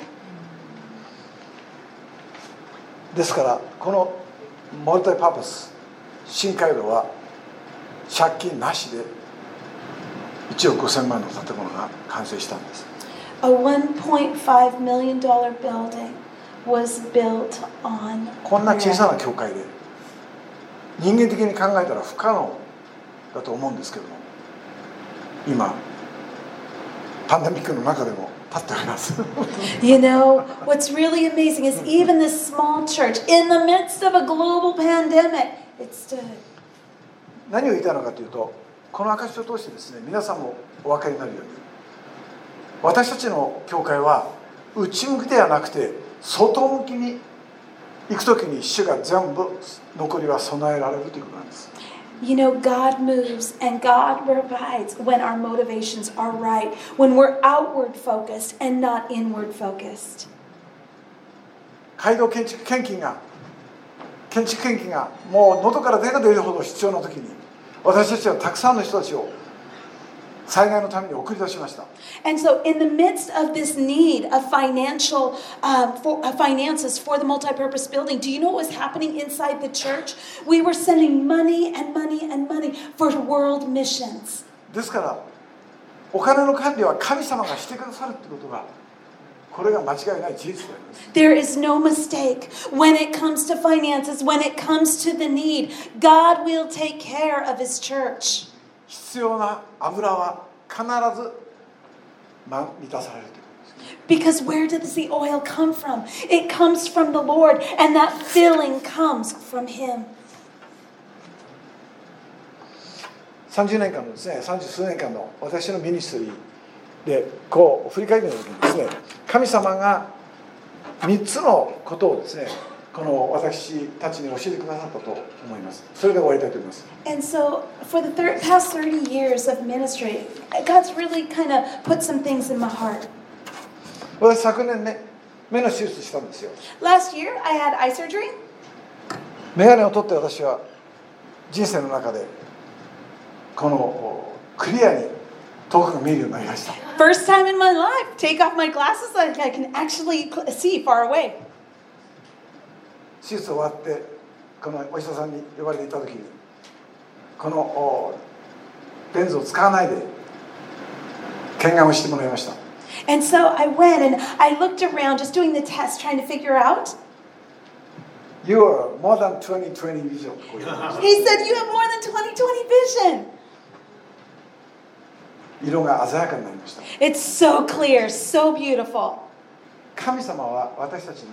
ですからこのモルタイパーパス新街道は借金なしで1億5000万の建物が完成したんです。 A $1.5 million building was built on こんな小さな bread. 教会で人間的に考えたら不可能だと思うんですけども、今パンデミックの中でも立っております。 You know, what's really amazing is even this small church, in the midst of a global pandemic, it stood. 何を言いたいのかというと、この証を通してですね、皆さんもお分かりになるように、私たちの教会は内向きではなくて外向きに行くときに主が全部残りは備えられるということなんです。 You know, God moves and God provides when our motivations are right, when we're outward focused and not inward focused. 街道建築献金がもう喉から手が出るほど必要なときに、私たちはたくさんの人たちを災害のために送り出しました。 And so in the midst of this need of finances for the multi-purpose building, do you know what was happening inside the church? We were sending money and money and money for world missions. ですからお金の管理は神様がしてくださるということが、これが間違いない事実であります。 There is no mistake when it comes to finances, when it comes to the need. God will take care of His church. 必要な油は必ず満たされるということです。 Because where does the oil come from? It comes from the Lord, and that filling comes from Him. 30年間のですね、30数年間の私のミニストリーでこう振り返ってみた時にですね、神様が3つのことをですね、この私たちに教えてくださったと思います。それで終わりたいと思います。 And so, for the past 30 years of ministry, God's really kind of put some things in my heart. 私昨年ね、目の手術したんですよ。 Last year, I had eye surgery. 眼鏡を取って私は人生の中でこのクリアに遠くが見えるようになりました。 First time in my life, take off my glasses, I can actually see far away. 手術終わってこのお医者さんに呼ばれていた時に、このレンズを使わないで検眼をしてもらいました。 And so I went and I looked around just doing the test, trying to figure out. You are more than 20/20 vision. He said, you have more than 20/20 vision. 色が鮮やかになりました。 It's so clear, so beautiful. 神様は私たちに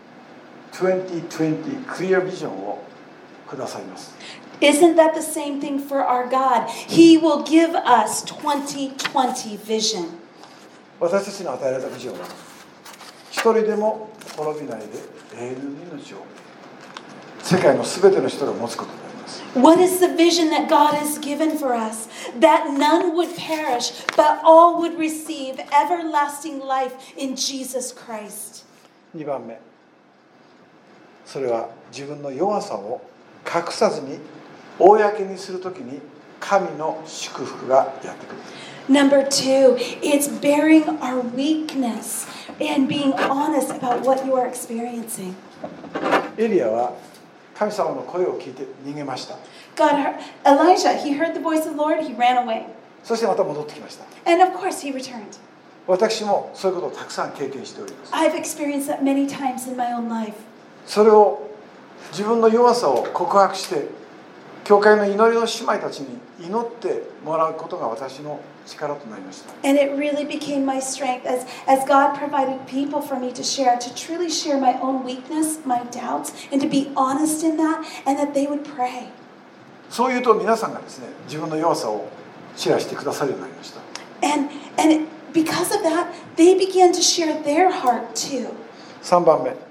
20/20 clear vision をくださいます。 Isn't that the same thing for our God? He will give us 20/20 vision. 私たちの与えられたビジョンは、一人でも滅びないで永遠の命を世界のすべての人が持つことであります。 What is the vision that God has given for us? That none would perish, but all would receive everlasting life in Jesus Christ. 2番目、それは自分の弱さを隠さずに公にするときに神の祝福がやってくる。 Number 2, it's bearing our weakness and being honest about what you are experiencing. エリアは神様の声を聞いて逃げました。 Elijah, he heard the voice of the Lord, he ran away. そしてまた戻ってきました。 And of course, he returned. 私もそういうことをたくさん経験しております。 I've experienced that many times in my own life. それを自分の弱さを告白して、教会の祈りの姉妹たちに祈ってもらうことが私の力となりました。 And it really became my strength as God provided people for me to share, to truly share my own weakness, my doubts, and to be honest in that, and that they would pray. そういうと皆さんがですね、自分の弱さをシェアしてくださるようになりました。 And because of that, they began to share their heart too. 3番目、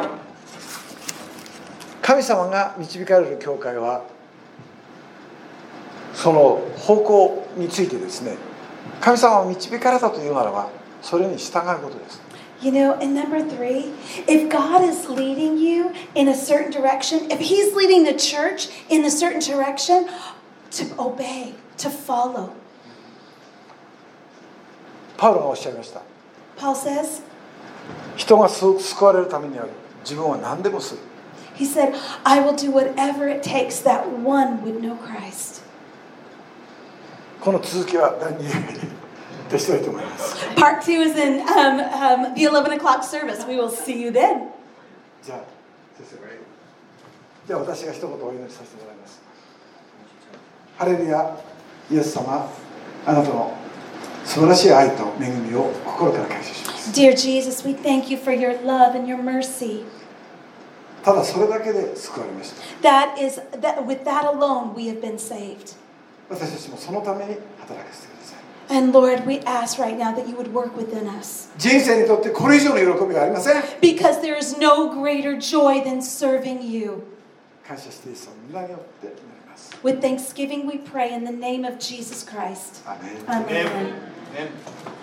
神様が導かれる教会はその方向についてですね、神様を導かれたというならばそれに従うことです。 You know, and number 3, if God is leading you in a certain direction, if He's leading the church in a certain direction, to obey, to follow. パウロがおっしゃいました。 Paul says, 人が救われるためには自分は何でもする。 he said, I will do whatever it takes that one would know Christ. この続きは第2でしたいと思います。 Part 2 is in the 11 o'clock service. We will see you then. じゃあ先生、じゃあ私が一言お祈りさせてもらいます。ハレルヤ、イエス様、あなたの素晴らしい愛と恵みを心から感謝します。 Dear Jesus, we thank you for your love and your mercy. ただそれだけで救われました。 With that alone, we have been saved. 私たちもそのために働かせてください。 And Lord, we ask right now that you would work within us. 人生にとってこれ以上の喜びはありません。 Because there is no greater joy than serving you. 感謝してイエス様の皆によって祈ります。 With thanksgiving, we pray in the name of Jesus Christ. Amen. Amen. Amen.